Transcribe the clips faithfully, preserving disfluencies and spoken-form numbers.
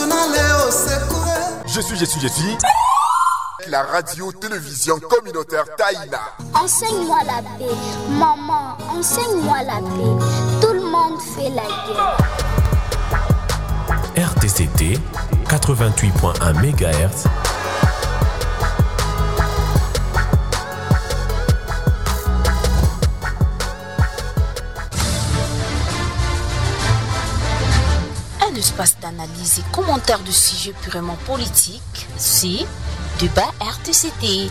Je suis, je suis, je suis... La radio-télévision communautaire Taïna. Enseigne-moi la paix. Maman, enseigne-moi la paix. Tout le monde fait la guerre. R T C T, quatre-vingt-huit point un mégahertz. Un espace d'analyse et commentaire de sujets purement politiques, c'est Débat R T C T.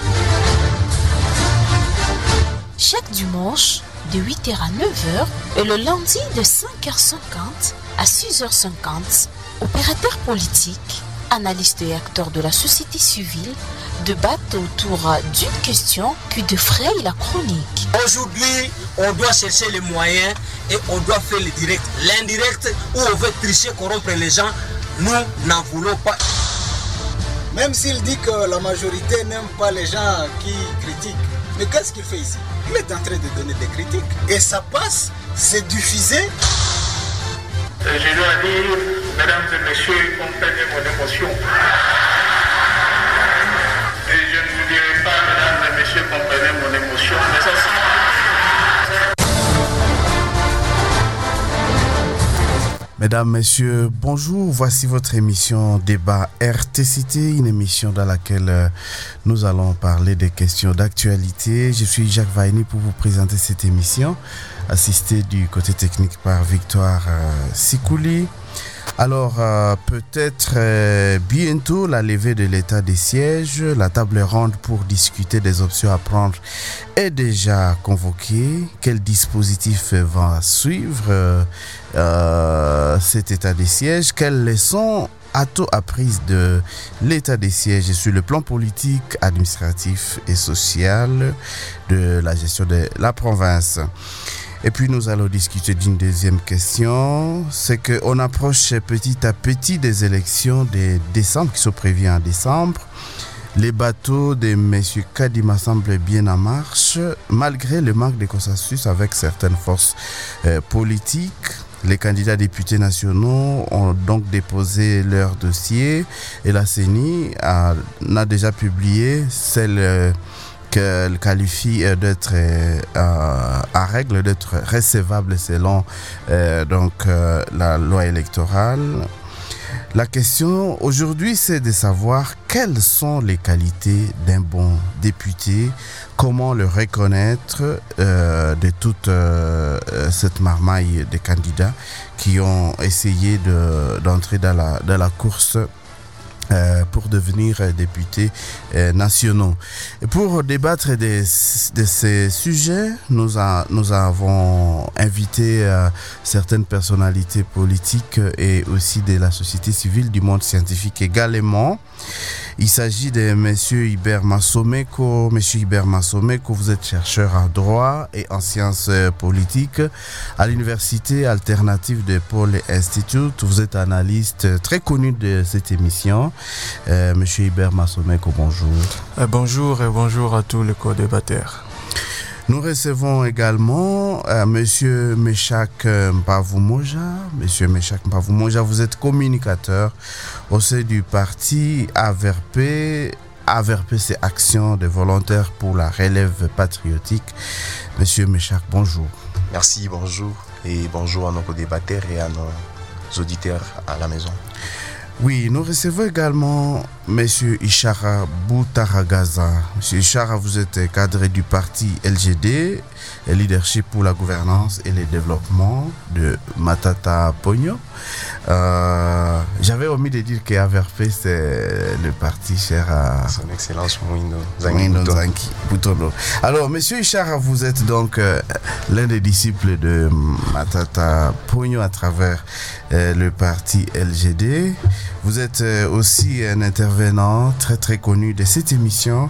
Chaque dimanche, de huit heures à neuf heures, et le lundi de cinq heures cinquante à six heures cinquante, opérateurs politiques, analystes et acteurs de la société civile débattent autour d'une question qui défraye la chronique. Aujourd'hui, on doit chercher les moyens et on doit faire le direct. L'indirect, où on veut tricher, corrompre les gens, nous n'en voulons pas. Même s'il dit que la majorité n'aime pas les gens qui critiquent. Mais qu'est-ce qu'il fait ici? Il est en train de donner des critiques. Et ça passe, c'est diffusé. Je dois dire, mesdames et messieurs, comprenez mon émotion. Et je ne vous dirai pas, mesdames et messieurs, comprenez mon émotion, mais ça sent. Mesdames, Messieurs, bonjour. Voici votre émission Débat R T C T, une émission dans laquelle nous allons parler des questions d'actualité. Je suis Jacques Vaini pour vous présenter cette émission, assisté du côté technique par Victoire euh, Sikouli. Alors, euh, peut-être euh, bientôt la levée de l'état des sièges, la table ronde pour discuter des options à prendre est déjà convoquée. Quel dispositif va suivre euh, euh, cet état des sièges? Quelles leçons a-t-on apprises de l'état des sièges sur le plan politique, administratif et social de la gestion de la province? Et puis nous allons discuter d'une deuxième question, c'est qu'on approche petit à petit des élections de décembre qui sont prévues en décembre. Les bateaux de M. Kadima semblent bien en marche, malgré le manque de consensus avec certaines forces euh, politiques. Les candidats députés nationaux ont donc déposé leur dossier et la C E N I a, a déjà publié celle euh, qu'elle qualifie d'être euh, à règle, d'être recevable selon euh, donc, euh, la loi électorale. La question aujourd'hui, c'est de savoir quelles sont les qualités d'un bon député, comment le reconnaître euh, de toute euh, cette marmaille de candidats qui ont essayé de, d'entrer dans la, dans la course Euh, pour devenir euh, députés euh, nationaux. Et pour débattre de, de ces sujets, nous, a, nous avons invité euh, certaines personnalités politiques et aussi de la société civile, du monde scientifique également. Il s'agit de M. Hubert Massomeko. M. Hubert Massomeko, vous êtes chercheur en droit et en sciences politiques à l'Université alternative de Paul Institute. Vous êtes analyste très connu de cette émission. Euh, M. Hubert Massomeko, bonjour. Euh, bonjour et bonjour à tous les co-débatteurs. Nous recevons également euh, M. Meshak Mpavumoja. M. Meshak Mpavumoja, vous êtes communicateur au sein du parti A V R P. A V R P, c'est Action des volontaires pour la relève patriotique. M. Meshak, bonjour. Merci, bonjour. Et bonjour à nos co-débatteurs et à nos auditeurs à la maison. Oui, nous recevons également M. Ishara Boutaragaza. M. Ishara, vous êtes cadre du parti L G D, leadership pour la gouvernance et le développement de Matata Pogno. Euh, j'avais omis de dire que A V R P, c'est le parti cher à son excellence Mouindo Zanki Butono. Alors, M. Ishara, vous êtes donc euh, l'un des disciples de Matata Pogno à travers euh, le parti L G D. Vous êtes euh, aussi un intervenant très très connu de cette émission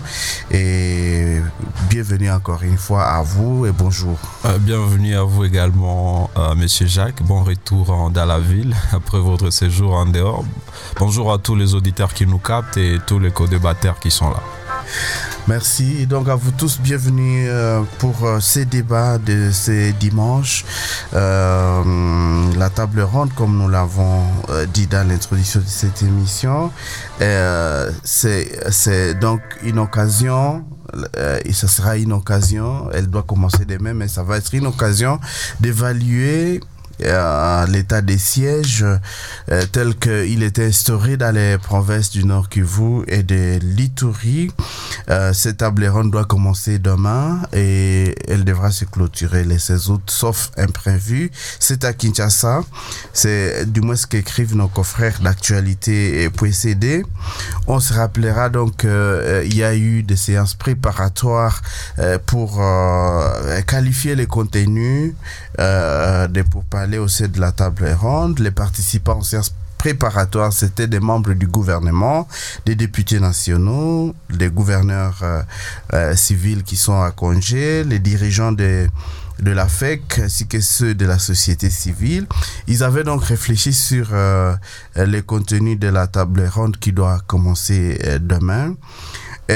et bienvenue encore une fois à vous et bonjour. Euh, bienvenue à vous également, euh, Monsieur Jacques. Bon retour en, dans la ville après votre séjour en dehors. Bonjour à tous les auditeurs qui nous captent et tous les co-débatteurs qui sont là. Merci. Donc à vous tous, bienvenue euh, pour euh, ces débats de ces dimanches. Euh, la table ronde, comme nous l'avons euh, dit dans l'introduction de cette émission, euh, c'est, c'est donc une occasion, euh, et ce sera une occasion, elle doit commencer demain, mais ça va être une occasion d'évaluer Euh, l'état des sièges euh, tel qu'il était instauré dans les provinces du Nord Kivu et de l'Ituri. Euh, cette table ronde doit commencer demain et elle devra se clôturer le seize août, sauf imprévu. C'est à Kinshasa. C'est du moins ce qu'écrivent nos confrères d'actualité et P C D. On se rappellera donc qu'il euh, y a eu des séances préparatoires euh, pour euh, qualifier les contenus euh, des pourparlers au sein de la table ronde. Les participants aux séances préparatoires, c'était des membres du gouvernement, des députés nationaux, des gouverneurs euh, euh, civils qui sont à congé, les dirigeants de, de la F E C, ainsi que ceux de la société civile. Ils avaient donc réfléchi sur euh, les contenus de la table ronde qui doit commencer euh, demain. Et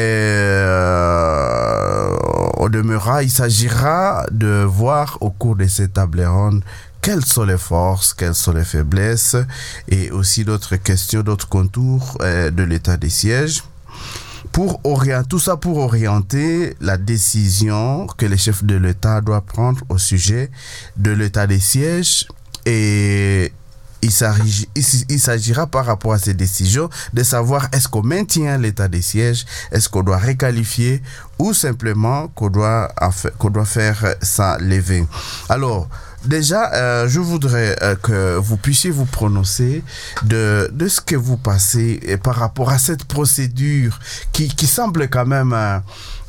euh, au demeurant, il s'agira de voir au cours de cette table ronde quelles sont les forces, quelles sont les faiblesses et aussi d'autres questions, d'autres contours euh, de l'état des sièges. Pour orienter, tout ça pour orienter la décision que le chef de l'État doit prendre au sujet de l'état des sièges. Et il s'agira, il s'agira par rapport à ces décisions de savoir est-ce qu'on maintient l'état des sièges, est-ce qu'on doit requalifier ou simplement qu'on doit, qu'on doit faire ça lever. Alors, déjà, euh, je voudrais euh, que vous puissiez vous prononcer de, de ce que vous passez et par rapport à cette procédure qui, qui semble quand même euh,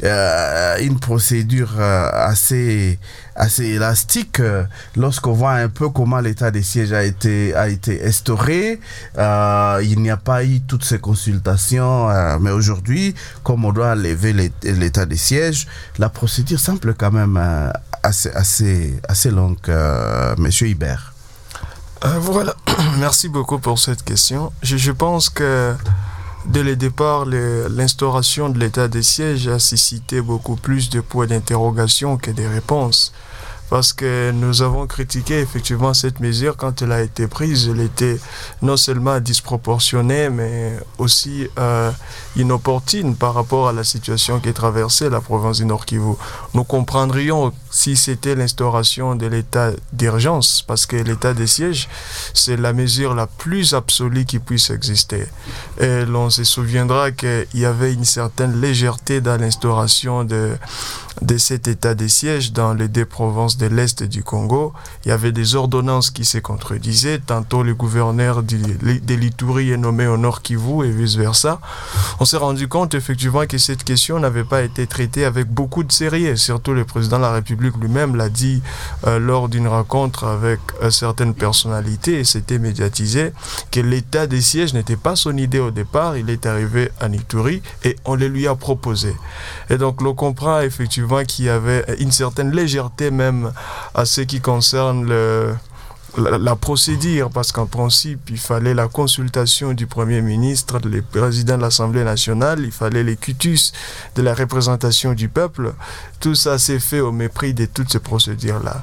euh, une procédure euh, assez, assez élastique euh, lorsqu'on voit un peu comment l'état des sièges a été, a été instauré. Euh, il n'y a pas eu toutes ces consultations, euh, mais aujourd'hui, comme on doit lever l'état des sièges, la procédure semble quand même euh, assez, assez, assez longue. Euh, Monsieur Hibert. Euh, voilà, merci beaucoup pour cette question. Je, je pense que dès le départ, le, l'instauration de l'état des sièges a suscité beaucoup plus de points d'interrogation que de réponses. Parce que nous avons critiqué effectivement cette mesure quand elle a été prise. Elle était non seulement disproportionnée, mais aussi euh, inopportune par rapport à la situation qui traversait la province du Nord Kivu. Nous comprendrions si c'était l'instauration de l'état d'urgence, parce que l'état des sièges, c'est la mesure la plus absolue qui puisse exister. Et l'on se souviendra qu'il y avait une certaine légèreté dans l'instauration de, de cet état des sièges dans les deux provinces de l'Est du Congo. Il y avait des ordonnances qui se contredisaient. Tantôt le gouverneur du, de l'Ituri est nommé au Nord Kivu et vice-versa. On s'est rendu compte effectivement que cette question n'avait pas été traitée avec beaucoup de sérieux. Surtout le président de la République lui-même l'a dit euh, lors d'une rencontre avec euh, certaines personnalités, et c'était médiatisé, que l'état des sièges n'était pas son idée au départ. Il est arrivé en Ituri et on le lui a proposé. Et donc l'on comprend effectivement qu'il y avait une certaine légèreté même à ce qui concerne le, la, la procédure, parce qu'en principe, il fallait la consultation du Premier ministre, le président de l'Assemblée nationale, il fallait les cutus de la représentation du peuple. Tout ça s'est fait au mépris de toutes ces procédures-là.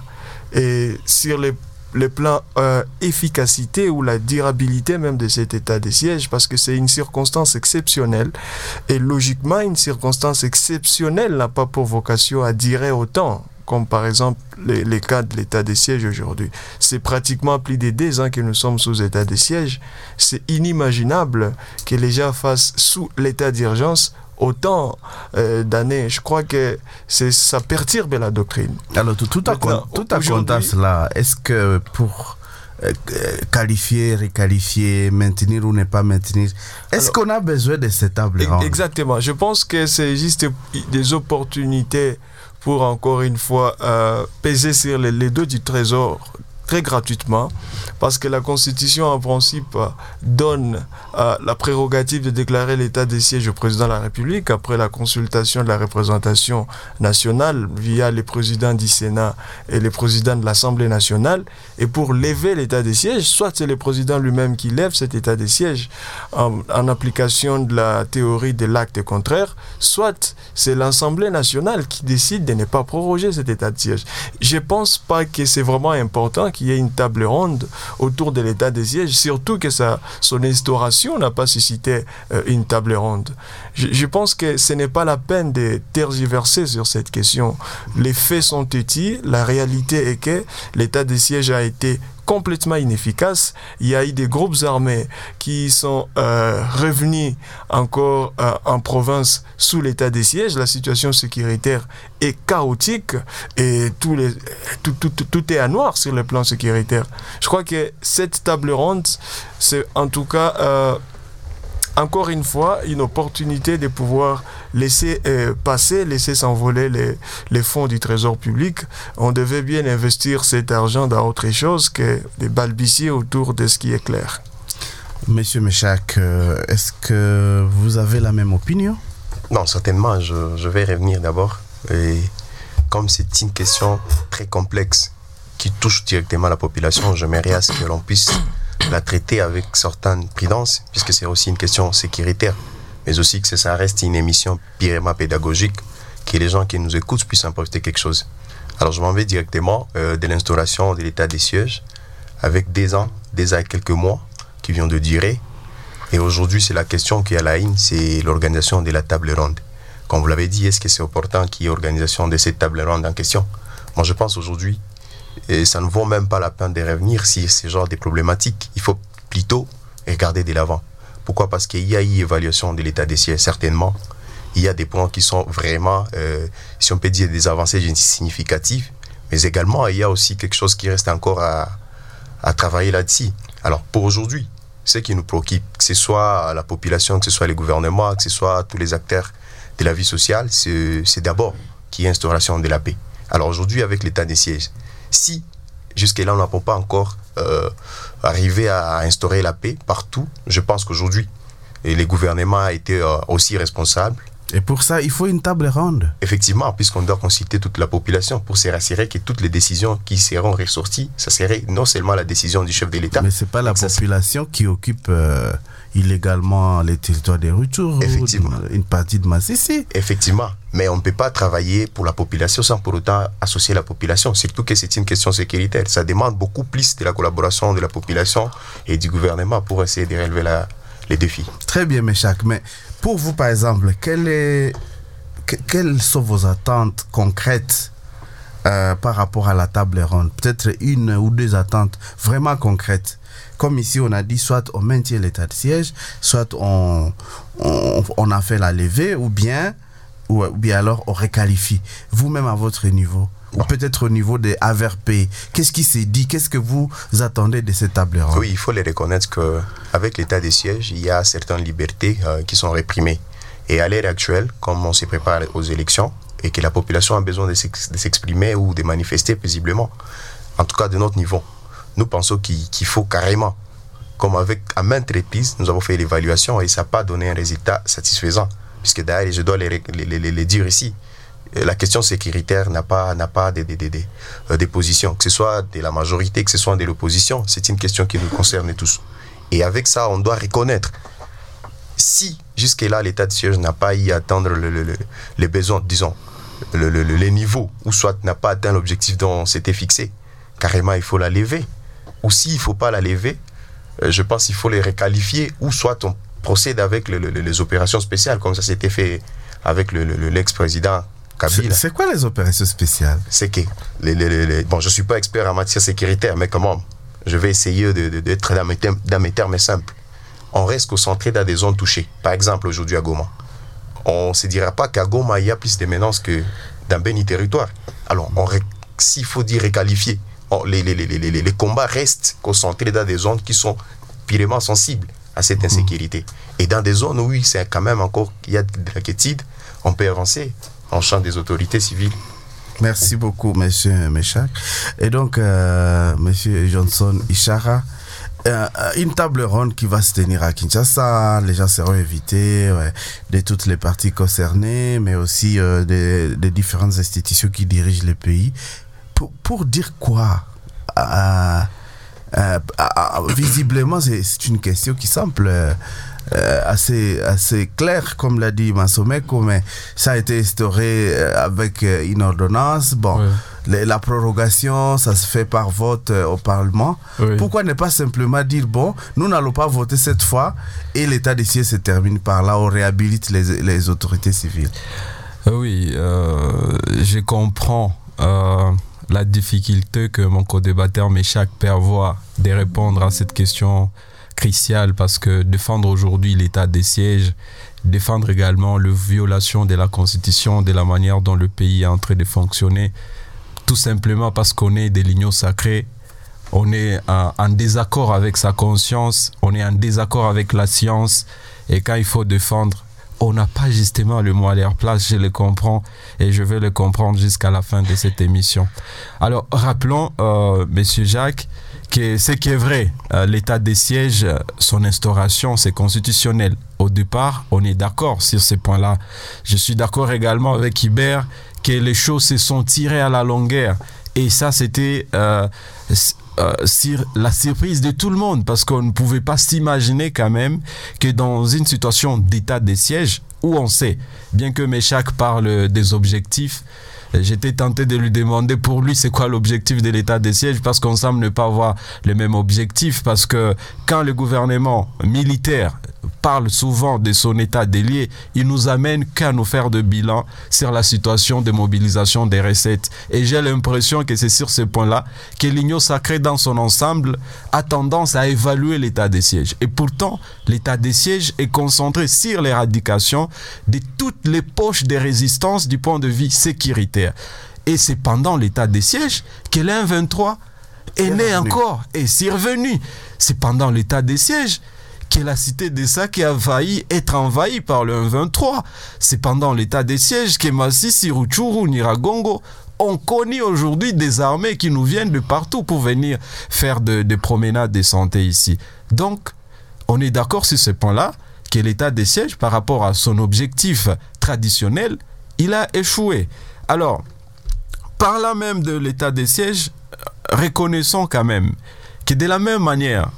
Et sur les le plan euh, efficacité ou la durabilité même de cet état de siège, parce que c'est une circonstance exceptionnelle, et logiquement une circonstance exceptionnelle n'a pas pour vocation à durer autant, comme par exemple les, les cas de l'état de siège aujourd'hui. C'est pratiquement plus de deux ans que nous sommes sous état de siège. C'est inimaginable que les gens fassent sous l'état d'urgence autant euh, d'années. Je crois que c'est, ça perturbe la doctrine. Alors, tout, tout, Maintenant, à, tout à compter cela, est-ce que pour euh, qualifier, requalifier, maintenir ou ne pas maintenir, est-ce alors, qu'on a besoin de cette table ronde? Exactement. Je pense que c'est juste des opportunités pour, encore une fois, euh, peser sur les, les dos du trésor très gratuitement, parce que la Constitution en principe donne euh, la prérogative de déclarer l'état de siège au président de la République après la consultation de la représentation nationale via les présidents du Sénat et les présidents de l'Assemblée nationale. Et pour lever l'état de siège, soit c'est le président lui-même qui lève cet état de siège en, en application de la théorie de l'acte contraire, soit c'est l'Assemblée nationale qui décide de ne pas proroger cet état de siège. Je ne pense pas que c'est vraiment important qu'il y ait une table ronde autour de l'état de siège, surtout que ça, son instauration n'a pas suscité euh, une table ronde. Je, je pense que ce n'est pas la peine de tergiverser sur cette question. Les faits sont têtus, la réalité est que l'état de siège a été complètement inefficace. Il y a eu des groupes armés qui sont euh, revenus encore euh, en province sous l'état de siège. La situation sécuritaire est chaotique et tout, les, tout, tout, tout, tout est à noir sur le plan sécuritaire. Je crois que cette table ronde, c'est en tout cas... Euh, encore une fois, une opportunité de pouvoir laisser euh, passer, laisser s'envoler les, les fonds du trésor public. On devait bien investir cet argent dans autre chose que de balbutier autour de ce qui est clair. Monsieur Méchac, euh, est-ce que vous avez la même opinion? Non, certainement. Je, je vais revenir d'abord. Et comme c'est une question très complexe qui touche directement la population, j'aimerais à ce que l'on puisse la traiter avec certaine prudence, puisque c'est aussi une question sécuritaire, mais aussi que ça reste une émission purement pédagogique, que les gens qui nous écoutent puissent emporter quelque chose. Alors je m'en vais directement euh, de l'instauration de l'état des sièges, avec des ans, des ans et quelques mois qui viennent de durer. Et aujourd'hui, c'est la question qui est à la ligne, c'est l'organisation de la table ronde. Comme vous l'avez dit, est-ce que c'est opportun qu'il y ait organisation de cette table ronde en question? Moi, je pense aujourd'hui, et ça ne vaut même pas la peine de revenir sur ce genre de problématiques. Il faut plutôt regarder de l'avant. Pourquoi? Parce qu'il y a eu évaluation de l'état des sièges, certainement. Il y a des points qui sont vraiment, euh, si on peut dire, des avancées significatives. Mais également, il y a aussi quelque chose qui reste encore à, à travailler là-dessus. Alors, pour aujourd'hui, ce qui nous préoccupe, que ce soit la population, que ce soit les gouvernements, que ce soit tous les acteurs de la vie sociale, c'est, c'est d'abord qu'il y ait instauration de la paix. Alors aujourd'hui, avec l'état des sièges, si jusque-là on n'a pas encore euh, arrivé à instaurer la paix partout, je pense qu'aujourd'hui les gouvernements ont été euh, aussi responsables. Et pour ça, il faut une table ronde. Effectivement, puisqu'on doit consulter toute la population pour se rassurer que toutes les décisions qui seront ressorties, ça serait non seulement la décision du chef de l'État. Mais ce n'est pas la population ça, qui occupe euh, illégalement les territoires des Rutshuru, effectivement, une partie de Massissi. Effectivement, mais on ne peut pas travailler pour la population sans pour autant associer la population, surtout que c'est une question sécuritaire. Ça demande beaucoup plus de la collaboration de la population et du gouvernement pour essayer de relever la, les défis. Très bien, Méchac, mais pour vous, par exemple, quelle est, que, quelles sont vos attentes concrètes euh, par rapport à la table ronde? Peut-être une ou deux attentes vraiment concrètes. Comme ici, on a dit, soit on maintient l'état de siège, soit on, on, on a fait la levée, ou bien, ou, ou bien alors on réqualifie. Vous-même à votre niveau, ou peut-être au niveau des A V R P, qu'est-ce qui s'est dit? Qu'est-ce que vous attendez de cette table ronde? Oui, il faut les reconnaître qu'avec l'état des sièges, il y a certaines libertés euh, qui sont réprimées. Et à l'heure actuelle, comme on se prépare aux élections, et que la population a besoin de s'exprimer ou de manifester paisiblement, en tout cas de notre niveau, nous pensons qu'il, qu'il faut carrément, comme avec à maintes reprises, nous avons fait l'évaluation et ça n'a pas donné un résultat satisfaisant. Puisque d'ailleurs, je dois les, les, les, les dire ici, la question sécuritaire n'a pas, n'a pas de, de, de, de, de, de position, que ce soit de la majorité, que ce soit de l'opposition, c'est une question qui nous concerne tous. Et avec ça, on doit reconnaître, si jusque-là l'état de siège n'a pas eu à atteindre le, le, le, les besoins, disons, le, le, le, les niveaux, ou soit n'a pas atteint l'objectif dont on s'était fixé, carrément il faut la lever. Ou s'il ne faut pas la lever, euh, je pense qu'il faut les requalifier, ou soit on procède avec le, le, les opérations spéciales, comme ça s'était fait avec le, le, l'ex-président Kabila. C'est, c'est quoi les opérations spéciales? C'est que, les, les, les, les, bon, je ne suis pas expert en matière sécuritaire, mais comment je vais essayer de, de, d'être dans mes, termes, dans mes termes simples. On reste concentré dans des zones touchées. Par exemple, aujourd'hui à Goma. On ne se dira pas qu'à Goma, il y a plus de menaces que dans Béni territoire. Alors, on, s'il faut dire requalifier, on, les, les, les, les, les combats restent concentrés dans des zones qui sont purement sensibles à cette insécurité. Mmh. Et dans des zones où c'est quand même encore, il y a de l'inquiétude, on peut avancer en champ des autorités civiles. Merci beaucoup, monsieur Méchac. Et donc, euh, monsieur Johnson Ishara, euh, une table ronde qui va se tenir à Kinshasa. Les gens seront invités ouais, de toutes les parties concernées, mais aussi euh, des, des différentes institutions qui dirigent les pays. Pour, pour dire quoi euh, euh, euh, visiblement, c'est, c'est une question qui semble euh, assez, assez claire, comme l'a dit Massomeko, mais ça a été instauré avec une ordonnance. Bon, ouais. les, la prorogation, ça se fait par vote euh, au Parlement. Oui. Pourquoi ne pas simplement dire, bon, nous n'allons pas voter cette fois et l'état des sièges se termine par là, on réhabilite les, les autorités civiles? Oui, euh, je comprends euh, la difficulté que mon co-débatteur Méchac prévoit de répondre à cette question cruciale, parce que défendre aujourd'hui l'état des sièges, défendre également la violation de la Constitution, de la manière dont le pays est en train de fonctionner, tout simplement parce qu'on est des lignes sacrées, on est en, en désaccord avec sa conscience, on est en désaccord avec la science, et quand il faut défendre, on n'a pas justement le mot à leur place, je le comprends, et je vais le comprendre jusqu'à la fin de cette émission. Alors, rappelons, euh, Monsieur Jacques, que ce qui est vrai, euh, l'état des sièges, son instauration, c'est constitutionnel. Au départ, on est d'accord sur ces points-là. Je suis d'accord également avec Hubert que les choses se sont tirées à la longueur. Et ça, c'était euh, euh, sur la surprise de tout le monde, parce qu'on ne pouvait pas s'imaginer quand même que dans une situation d'état des sièges, où on sait, bien que Méchac parle des objectifs, j'étais tenté de lui demander pour lui c'est quoi l'objectif de l'état des sièges, parce qu'on semble ne pas avoir le même objectif, parce que quand le gouvernement militaire parle souvent de son état délié, il nous amène qu'à nous faire de bilan sur la situation de mobilisation des recettes. Et j'ai l'impression que c'est sur ce point-là que l'Union sacrée dans son ensemble a tendance à évaluer l'état des sièges. Et pourtant, l'état des sièges est concentré sur l'éradication de toutes les poches de résistance du point de vue sécuritaire. Et c'est pendant l'état des sièges que l'M vingt-trois est né encore et c'est revenu. C'est pendant l'état des sièges que la cité de Sake a failli être envahie par le M vingt-trois. C'est pendant l'état des sièges que Masisi, Rutshuru, Nyiragongo ont connu aujourd'hui des armées qui nous viennent de partout pour venir faire des de promenades de santé ici. Donc, on est d'accord sur ce point-là, que l'état des sièges, par rapport à son objectif traditionnel, il a échoué. Alors, parlant même de l'état des sièges, reconnaissons quand même que de la même manière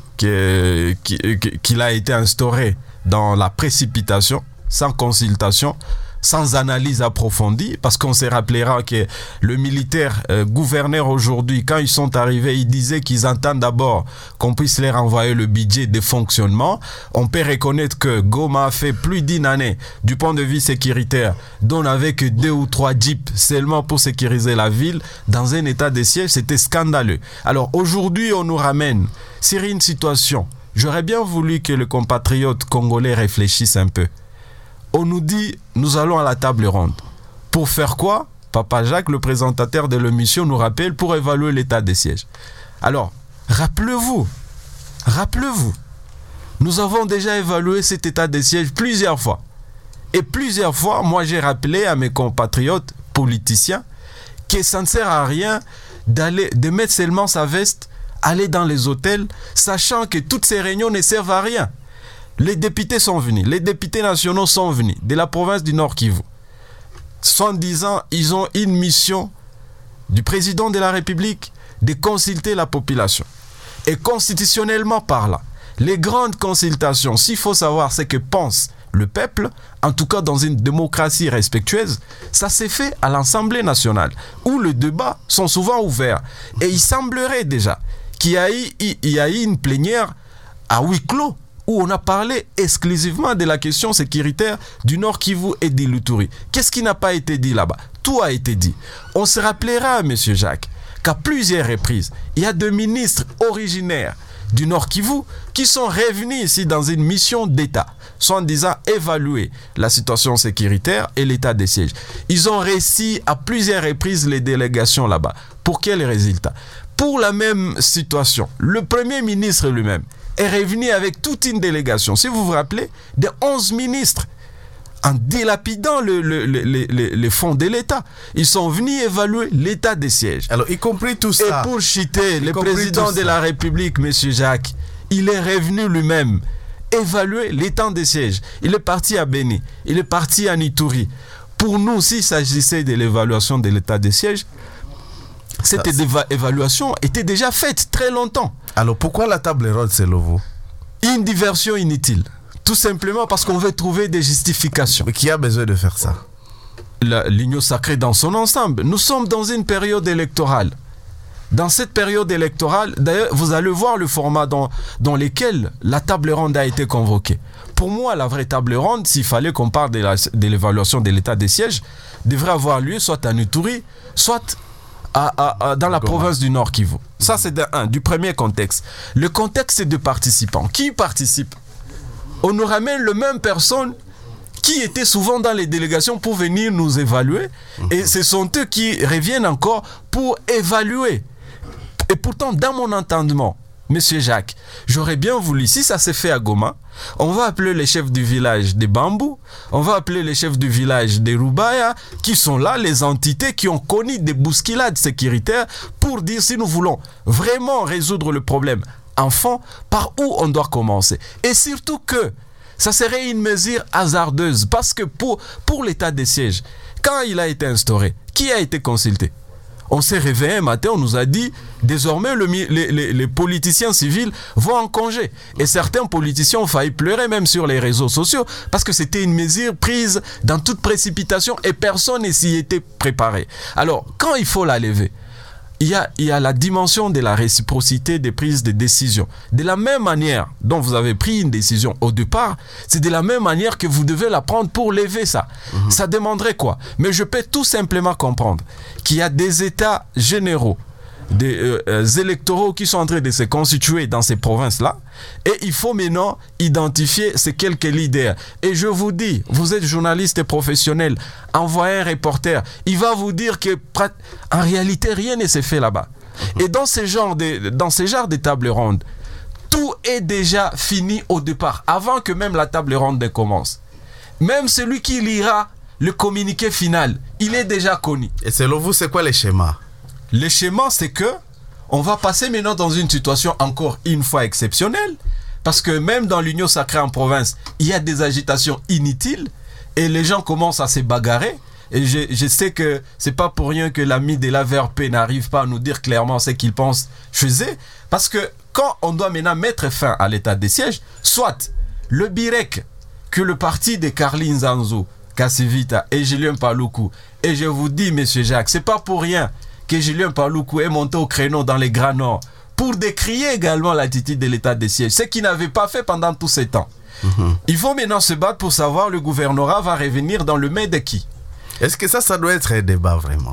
qu'il a été instauré dans la précipitation, sans consultation, sans analyse approfondie, parce qu'on se rappellera que le militaire euh, gouverneur aujourd'hui, quand ils sont arrivés, ils disaient qu'ils entendent d'abord qu'on puisse leur envoyer le budget de fonctionnement. On peut reconnaître que Goma a fait plus d'une année du point de vue sécuritaire, dont on n'avait que deux ou trois jeeps seulement pour sécuriser la ville. Dans un état de siège, c'était scandaleux. Alors aujourd'hui, on nous ramène sur une situation. J'aurais bien voulu que le compatriote congolais réfléchisse un peu. On nous dit, nous allons à la table ronde. Pour faire quoi? Papa Jacques, le présentateur de l'émission, nous rappelle pour évaluer l'état des sièges. Alors, rappelez-vous, rappelez-vous, nous avons déjà évalué cet état des sièges plusieurs fois. Et plusieurs fois, moi j'ai rappelé à mes compatriotes politiciens que ça ne sert à rien d'aller, de mettre seulement sa veste, aller dans les hôtels, sachant que toutes ces réunions ne servent à rien. Les députés sont venus, les députés nationaux sont venus de la province du Nord Kivu. soixante-dix ans, ils ont une mission du président de la République de consulter la population. Et constitutionnellement parlant, les grandes consultations, s'il faut savoir ce que pense le peuple, en tout cas dans une démocratie respectueuse, ça s'est fait à l'Assemblée nationale, où les débats sont souvent ouverts. Et il semblerait déjà qu'il y a eu, il y a eu une plénière à huis clos, où on a parlé exclusivement de la question sécuritaire du Nord Kivu et de l'Ituri. Qu'est-ce qui n'a pas été dit là-bas? Tout a été dit. On se rappellera, M. Jacques, qu'à plusieurs reprises, il y a deux ministres originaires du Nord Kivu qui sont revenus ici dans une mission d'État, soit en disant évaluer la situation sécuritaire et l'état des sièges. Ils ont réussi à plusieurs reprises les délégations là-bas. Pour quel résultat? Pour la même situation, le Premier ministre lui-même est revenu avec toute une délégation, si vous vous rappelez, de onze ministres, en dilapidant le, le, le, le, le, les fonds de l'État. Ils sont venus évaluer l'état des sièges. Alors, y compris tout ça. Et pour citer le président de la République, M. Jacques, il est revenu lui-même évaluer l'état des sièges. Il est parti à Béni, il est parti à Ituri. Pour nous, s'il s'agissait de l'évaluation de l'état des sièges, cette éva- évaluation était déjà faite très longtemps. Alors pourquoi la table ronde, selon vous? Une diversion inutile. Tout simplement parce qu'on veut trouver des justifications. Mais qui a besoin de faire ça? La, l'Union sacrée dans son ensemble. Nous sommes dans une période électorale. Dans cette période électorale, d'ailleurs, vous allez voir le format dans, dans lequel la table ronde a été convoquée. Pour moi, la vraie table ronde, s'il fallait qu'on parle de, la, de l'évaluation de l'état des sièges, devrait avoir lieu soit à Ituri, soit à, à, à, dans la province du Nord Kivu. Ça, c'est de, un, du premier contexte. Le contexte, c'est de participants. Qui participe? On nous ramène les mêmes personnes qui étaient souvent dans les délégations pour venir nous évaluer. Et ce sont eux qui reviennent encore pour évaluer. Et pourtant, dans mon entendement, Monsieur Jacques, j'aurais bien voulu, si ça s'est fait à Goma, on va appeler les chefs du village de Bambou, on va appeler les chefs du village de Rubaya, qui sont là, les entités qui ont connu des bousculades sécuritaires, pour dire si nous voulons vraiment résoudre le problème enfant, par où on doit commencer. Et surtout que ça serait une mesure hasardeuse, parce que pour, pour l'état des sièges, quand il a été instauré, qui a été consulté? On s'est réveillé un matin, on nous a dit, désormais le, les, les, les politiciens civils vont en congé. Et certains politiciens ont failli pleurer même sur les réseaux sociaux, parce que c'était une mesure prise dans toute précipitation et personne ne s'y était préparé. Alors, quand il faut la lever, Il y, a, il y a la dimension de la réciprocité des prises de décision. De la même manière dont vous avez pris une décision au départ, c'est de la même manière que vous devez la prendre pour lever ça. Mmh. Ça demanderait quoi? Mais je peux tout simplement comprendre qu'il y a des états généraux, des euh, électoraux qui sont en train de se constituer dans ces provinces-là, et il faut maintenant identifier ces quelques leaders. Et je vous dis, vous êtes journaliste et professionnel, envoyez un reporter, il va vous dire que en réalité rien ne s'est fait là-bas. Et dans ces genres de, dans ces genres de tables rondes, tout est déjà fini au départ, avant que même la table ronde ne commence. Même celui qui lira le communiqué final, il est déjà connu. Et selon vous, c'est quoi les schémas? Le schéma, c'est que on va passer maintenant dans une situation encore une fois exceptionnelle, parce que même dans l'Union sacrée en province, il y a des agitations inutiles et les gens commencent à se bagarrer. Et je, je sais que c'est pas pour rien que l'ami de l'A V R P n'arrive pas à nous dire clairement ce qu'il pense chez eux, parce que quand on doit maintenant mettre fin à l'état des sièges, soit le B I R E C, que le parti de Carly Nzanzo, Kassivita et Julien Paluku, et je vous dis, monsieur Jacques, c'est pas pour rien que Julien Paluku est monté au créneau dans les Grands Nord pour décrier également l'attitude de l'état des sièges, ce qu'il n'avait pas fait pendant tous ces temps. Mmh. Il faut maintenant se battre pour savoir le gouvernorat va revenir dans le main de qui. Est-ce que ça, ça doit être un débat vraiment?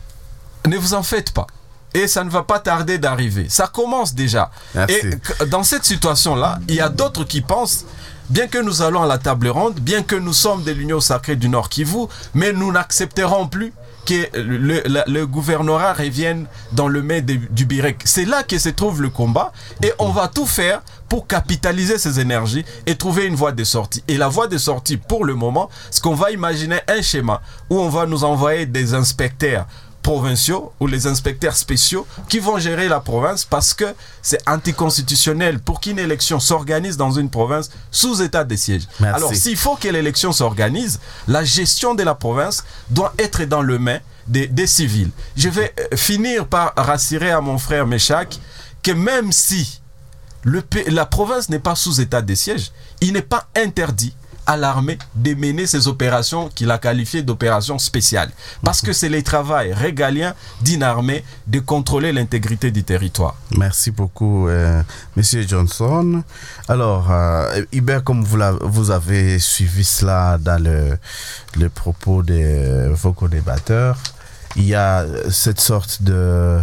Ne vous en faites pas. Et ça ne va pas tarder d'arriver. Ça commence déjà. Merci. Et dans cette situation-là, il y a d'autres qui pensent, bien que nous allons à la table ronde, bien que nous sommes de l'Union sacrée du Nord Kivu, mais nous n'accepterons plus que le, le, le gouvernorat revienne dans le main de, du B I R E C. C'est là que se trouve le combat et on va tout faire pour capitaliser ces énergies et trouver une voie de sortie. Et la voie de sortie, pour le moment, c'est qu'on va imaginer un schéma où on va nous envoyer des inspecteurs provinciaux ou les inspecteurs spéciaux qui vont gérer la province, parce que c'est anticonstitutionnel pour qu'une élection s'organise dans une province sous état de siège. Merci. Alors s'il faut que l'élection s'organise, la gestion de la province doit être dans le main des, des civils. Je vais finir par rassurer à mon frère Méchac que même si le, la province n'est pas sous état de siège, il n'est pas interdit à l'armée de mener ces opérations qu'il a qualifiées d'opérations spéciales. Parce que c'est le travail régalien d'une armée de contrôler l'intégrité du territoire. Merci beaucoup, euh, Monsieur Johnson. Alors, euh, Hubert, comme vous, la, vous avez suivi cela dans le, le propos de vos co-débatteurs, il y a cette sorte de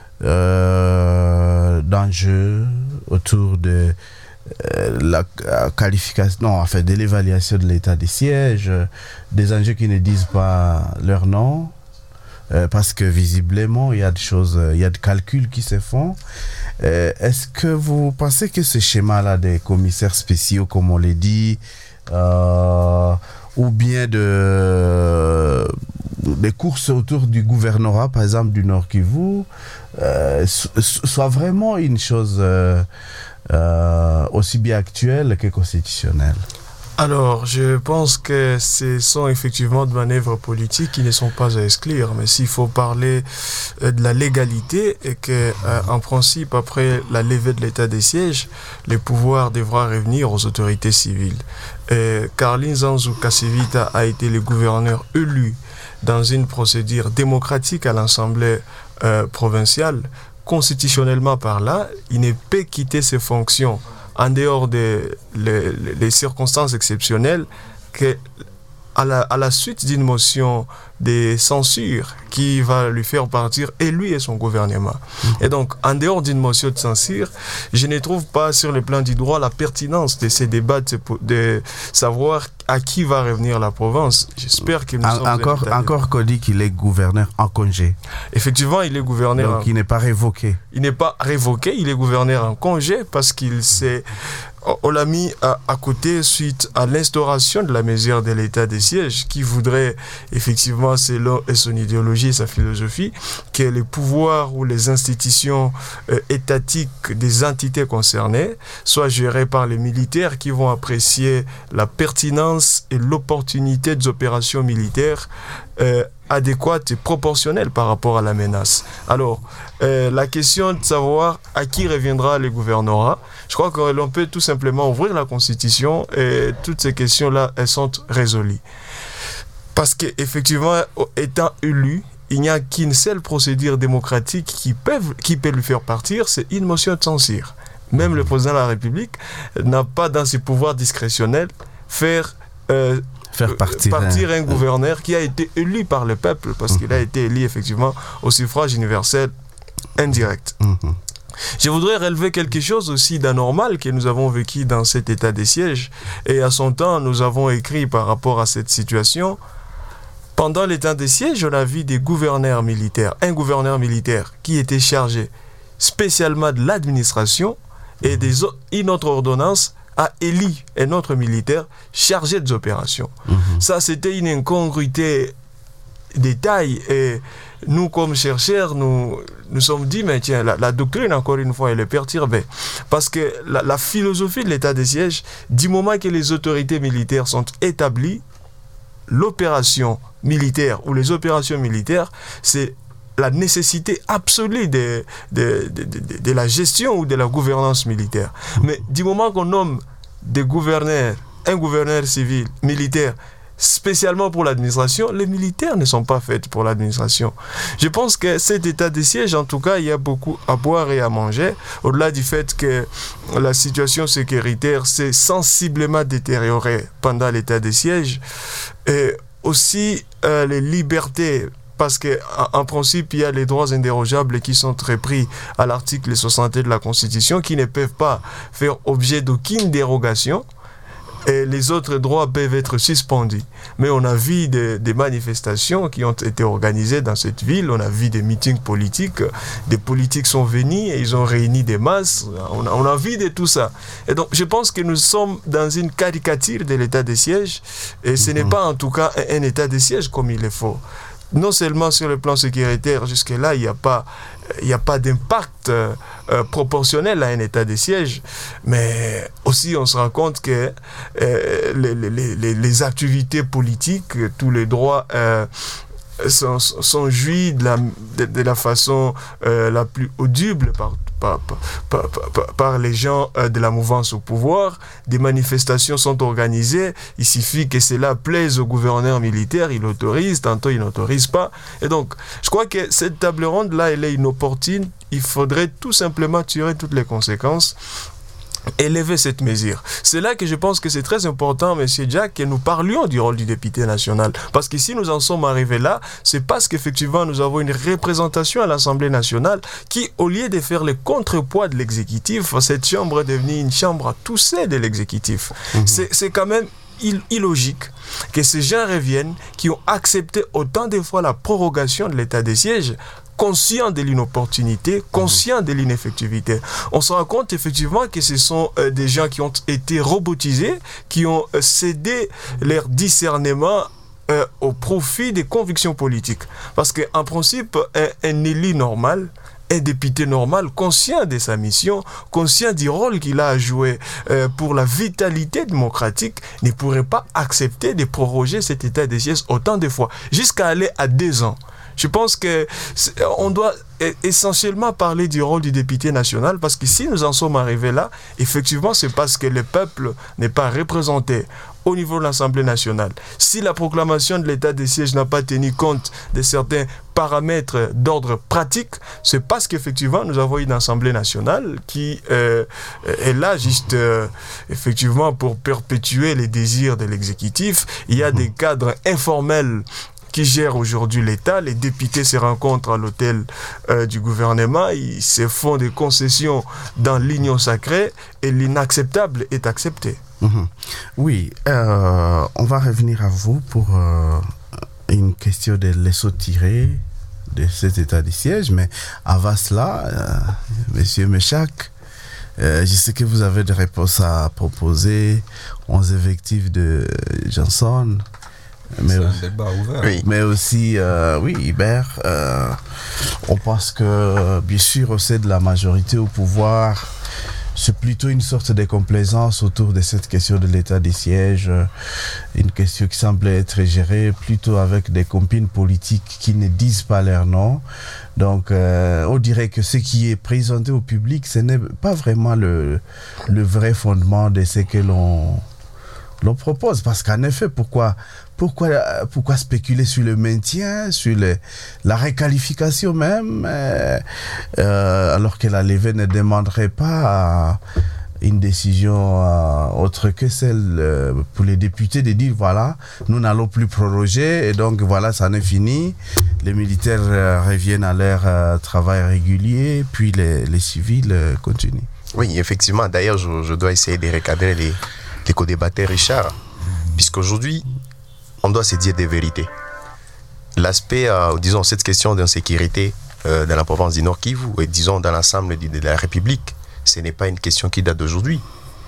euh, d'enjeu autour de Euh, la euh, qualification, non, en fait, de l'évaluation de l'état des sièges, euh, des enjeux qui ne disent pas leur nom, euh, parce que visiblement, il y a des choses, euh, il y a des calculs qui se font. Euh, est-ce que vous pensez que ce schéma-là des commissaires spéciaux, comme on l'a dit, euh, ou bien de, des courses autour du gouvernorat, par exemple, du Nord Kivu, euh, soit vraiment une chose... Euh, euh, aussi bien actuelle que constitutionnelle? Alors, je pense que ce sont effectivement de manœuvres politiques qui ne sont pas à exclure. Mais s'il faut parler euh, de la légalité, et que, euh, en principe, après la levée de l'état des sièges, les pouvoirs devront revenir aux autorités civiles. Et Carlin Zanzu Kasivita a été le gouverneur élu dans une procédure démocratique à l'Assemblée euh, provinciale. Constitutionnellement par là, il ne peut quitter ses fonctions en dehors des les, les circonstances exceptionnelles que à la, à la suite d'une motion de censure qui va lui faire partir, et lui et son gouvernement. Et donc, en dehors d'une motion de censure, je ne trouve pas sur le plan du droit la pertinence de ces débats, de, de savoir à qui va revenir la province. J'espère que nous en, sommes... Encore, encore qu'on dit qu'il est gouverneur en congé. Effectivement, il est gouverneur... Donc, en... il n'est pas révoqué. Il n'est pas révoqué, il est gouverneur en congé parce qu'il s'est... On l'a mis à, à côté suite à l'instauration de la mesure de l'état des sièges qui voudrait effectivement, selon son idéologie et sa philosophie, que les pouvoirs ou les institutions euh, étatiques des entités concernées soient gérées par les militaires qui vont apprécier la pertinence et l'opportunité des opérations militaires euh, adéquate et proportionnelle par rapport à la menace. Alors, euh, la question de savoir à qui reviendra le gouvernorat, je crois que l'on peut tout simplement ouvrir la Constitution et toutes ces questions-là, elles sont résolues. Parce qu'effectivement, étant élu, il n'y a qu'une seule procédure démocratique qui peut, qui peut lui faire partir, c'est une motion de censure. Même le président de la République n'a pas dans ses pouvoirs discrétionnels faire... Euh, faire partir, partir un, un gouverneur qui a été élu par le peuple, parce mmh. qu'il a été élu effectivement au suffrage universel indirect. Mmh. Je voudrais relever quelque chose aussi d'anormal que nous avons vécu dans cet état des sièges, et à son temps nous avons écrit par rapport à cette situation. Pendant l'état des sièges, on a vu des gouverneurs militaires, un gouverneur militaire qui était chargé spécialement de l'administration, et des, une autre ordonnance a élu un autre militaire chargé des opérations. Mmh. Ça, c'était une incongruité de taille. Et nous, comme chercheurs, nous nous sommes dit, mais tiens, la, la doctrine, encore une fois, elle est perturbée. Parce que la, la philosophie de l'état des sièges, du moment que les autorités militaires sont établies, l'opération militaire ou les opérations militaires, c'est la nécessité absolue de, de, de, de, de la gestion ou de la gouvernance militaire. Mais du moment qu'on nomme des gouverneurs, un gouverneur civil, militaire, spécialement pour l'administration, les militaires ne sont pas faits pour l'administration. Je pense que cet état de siège, en tout cas, il y a beaucoup à boire et à manger, au-delà du fait que la situation sécuritaire s'est sensiblement détériorée pendant l'état de siège, et aussi euh, les libertés, parce qu'en principe, il y a les droits indérogeables qui sont repris à l'article soixante de la Constitution, qui ne peuvent pas faire objet d'aucune dérogation, et les autres droits peuvent être suspendus. Mais on a vu des, des manifestations qui ont été organisées dans cette ville, on a vu des meetings politiques, des politiques sont venus et ils ont réuni des masses, on a, on a vu de tout ça. Et donc je pense que nous sommes dans une caricature de l'état de siège, et ce n'est pas en tout cas un, un état de siège comme il le faut. Non seulement sur le plan sécuritaire, jusque-là, il n'y a pas, il n'y a pas d'impact euh, proportionnel à un état de siège, mais aussi on se rend compte que euh, les, les, les, les activités politiques, tous les droits euh, sont, sont jouis de la, de, de la façon euh, la plus audible par Par, par, par, par les gens euh, de la mouvance au pouvoir. Des manifestations sont organisées, il suffit que cela plaise au gouverneur militaire, il autorise, tantôt il n'autorise pas. Et donc, je crois que cette table ronde-là, elle est inopportune, il faudrait tout simplement tirer toutes les conséquences, élever cette mesure. C'est là que je pense que c'est très important, Monsieur Jack, que nous parlions du rôle du député national. Parce que si nous en sommes arrivés là, c'est parce qu'effectivement nous avons une représentation à l'Assemblée nationale qui, au lieu de faire le contrepoids de l'exécutif, cette chambre est devenue une chambre à tousser de l'exécutif. Mmh. C'est, c'est quand même illogique que ces gens reviennent qui ont accepté autant de fois la prorogation de l'état des sièges, conscient de l'inopportunité, conscient de l'ineffectivité. On se rend compte effectivement que ce sont euh, des gens qui ont été robotisés, qui ont euh, cédé leur discernement euh, au profit des convictions politiques. Parce qu'en principe, un, un élu normal, un député normal, conscient de sa mission, conscient du rôle qu'il a à jouer euh, pour la vitalité démocratique, ne pourrait pas accepter de proroger cet état de siège autant de fois, jusqu'à aller à deux ans. Je pense qu'on doit essentiellement parler du rôle du député national, parce que si nous en sommes arrivés là, effectivement, c'est parce que le peuple n'est pas représenté au niveau de l'Assemblée nationale. Si la proclamation de l'état de siège n'a pas tenu compte de certains paramètres d'ordre pratique, c'est parce qu'effectivement, nous avons une Assemblée nationale qui euh, est là juste euh, effectivement pour perpétuer les désirs de l'exécutif. Il y a des cadres informels qui gèrent aujourd'hui l'État. Les députés se rencontrent à l'hôtel euh, du gouvernement, ils se font des concessions dans l'union sacrée et l'inacceptable est accepté. Mmh. Oui, euh, on va revenir à vous pour euh, une question de laisser tirer de cet état de siège, mais avant cela, euh, Monsieur Méchac, euh, je sais que vous avez des réponses à proposer aux effectifs de Johnson. Mais, c'est un débat ouvert. Oui. Mais aussi, euh, oui, Hubert, euh, on pense que, bien sûr, au sein de la majorité au pouvoir, c'est plutôt une sorte de complaisance autour de cette question de l'état des sièges, une question qui semble être gérée plutôt avec des compines politiques qui ne disent pas leur nom. Donc, euh, on dirait que ce qui est présenté au public, ce n'est pas vraiment le, le vrai fondement de ce que l'on... l'on propose, parce qu'en effet, pourquoi, pourquoi, pourquoi spéculer sur le maintien, sur le, la réqualification même, euh, euh, alors que la levée ne demanderait pas une décision euh, autre que celle euh, pour les députés de dire voilà, nous n'allons plus proroger et donc voilà, ça en est fini. Les militaires euh, reviennent à leur euh, travail régulier, puis les, les civils euh, continuent. Oui, effectivement. D'ailleurs, je, je dois essayer de recadrer les les co-débatteurs, Richard, puisqu'aujourd'hui, on doit se dire des vérités. L'aspect, euh, disons, cette question d'insécurité euh, dans la province du Nord Kivu, et disons dans l'ensemble de, de la République, ce n'est pas une question qui date d'aujourd'hui.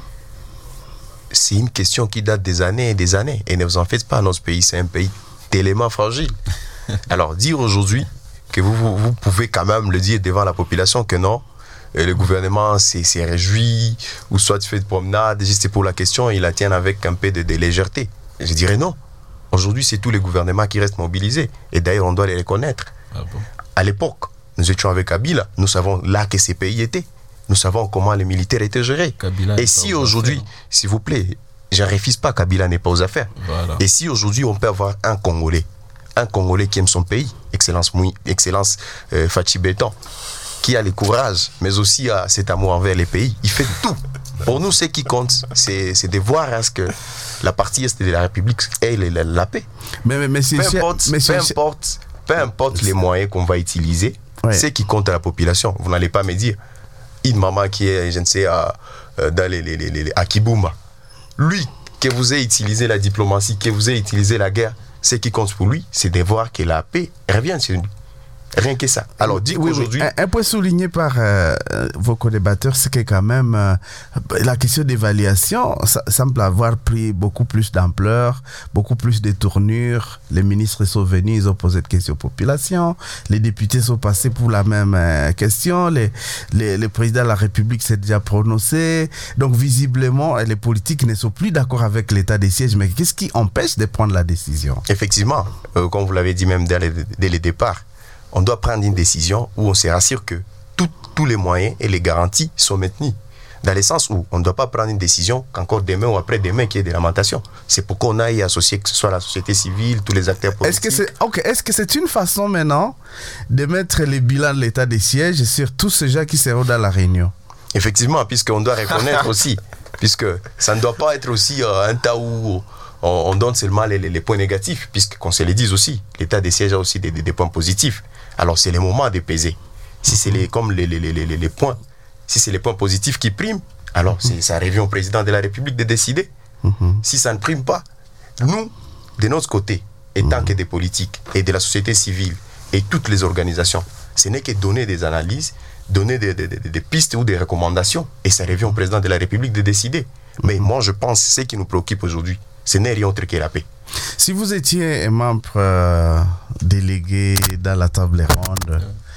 C'est une question qui date des années et des années. Et ne vous en faites pas, notre pays, c'est un pays tellement fragile. Alors, dire aujourd'hui que vous, vous, vous pouvez quand même le dire devant la population que non, et le gouvernement s'est, s'est réjoui, ou soit tu fais de promenade, juste pour la question, ils la tiennent avec un peu de, de légèreté. Je dirais non. Aujourd'hui, c'est tous les gouvernements qui restent mobilisés. Et d'ailleurs, on doit les reconnaître. Ah bon? À l'époque, nous étions avec Kabila, nous savons là que ces pays étaient. Nous savons comment les militaires étaient gérés. Kabila et si aujourd'hui, s'il vous plaît, je ne refuse pas Kabila n'est pas aux affaires. Voilà. Et si aujourd'hui, on peut avoir un Congolais, un Congolais qui aime son pays, Excellence, Moui, Excellence euh, Fachi Béton, qui a le courage, mais aussi a cet amour envers les pays. Il fait tout. Pour nous, ce qui compte, c'est, c'est de voir à ce que la partie est de la République ait la, la paix. Mais, mais, mais peu, importe, mais peu, importe, peu importe les moyens qu'on va utiliser, ouais. Ce qui compte à la population. Vous n'allez pas me dire, une maman qui est, je ne sais, à, dans les, les, les, les, à Kibumba, lui, que vous ayez utilisé la diplomatie, que vous ayez utilisé la guerre, ce qui compte pour lui, c'est de voir que la paix revient sur lui. Rien que ça. Alors, dit oui, qu'aujourd'hui... Oui. Un, un point souligné par euh, vos co-débatteurs, c'est que quand même, euh, la question d'évaluation ça, semble avoir pris beaucoup plus d'ampleur, beaucoup plus de tournures. Les ministres sont venus, ils ont posé des questions aux populations. Les députés sont passés pour la même euh, question. Les, les, le président de la République s'est déjà prononcé. Donc, visiblement, les politiques ne sont plus d'accord avec l'état des sièges. Mais qu'est-ce qui empêche de prendre la décision? Effectivement, euh, comme vous l'avez dit même dès le, dès le départ, on doit prendre une décision où on se rassure que tout, tous les moyens et les garanties sont maintenus. Dans le sens où on ne doit pas prendre une décision qu'encore demain ou après-demain qu'il y ait des lamentations. C'est pourquoi on a y associé que ce soit la société civile, tous les acteurs politiques. Est-ce que c'est, okay, est-ce que c'est une façon maintenant de mettre les bilans de l'état des sièges sur tous ces gens qui seront dans la réunion? Effectivement, puisqu'on doit reconnaître aussi, puisque ça ne doit pas être aussi euh, un tas où on, on donne seulement les, les, les points négatifs, puisqu'on se les dise aussi, l'état des sièges a aussi des, des, des points positifs. Alors c'est le moment de peser. Si c'est les, comme les, les, les, les, les points, si c'est les points positifs qui priment, alors c'est, ça revient au président de la République de décider. Mm-hmm. Si ça ne prime pas, nous, de notre côté, étant mm-hmm. que des politiques et de la société civile et toutes les organisations, ce n'est que donner des analyses, donner des, des, des, des pistes ou des recommandations, et ça revient au président de la République de décider. Mm-hmm. Mais moi, je pense que ce qui nous préoccupe aujourd'hui, ce n'est rien autre que la paix. Si vous étiez un membre euh, délégué dans la table ronde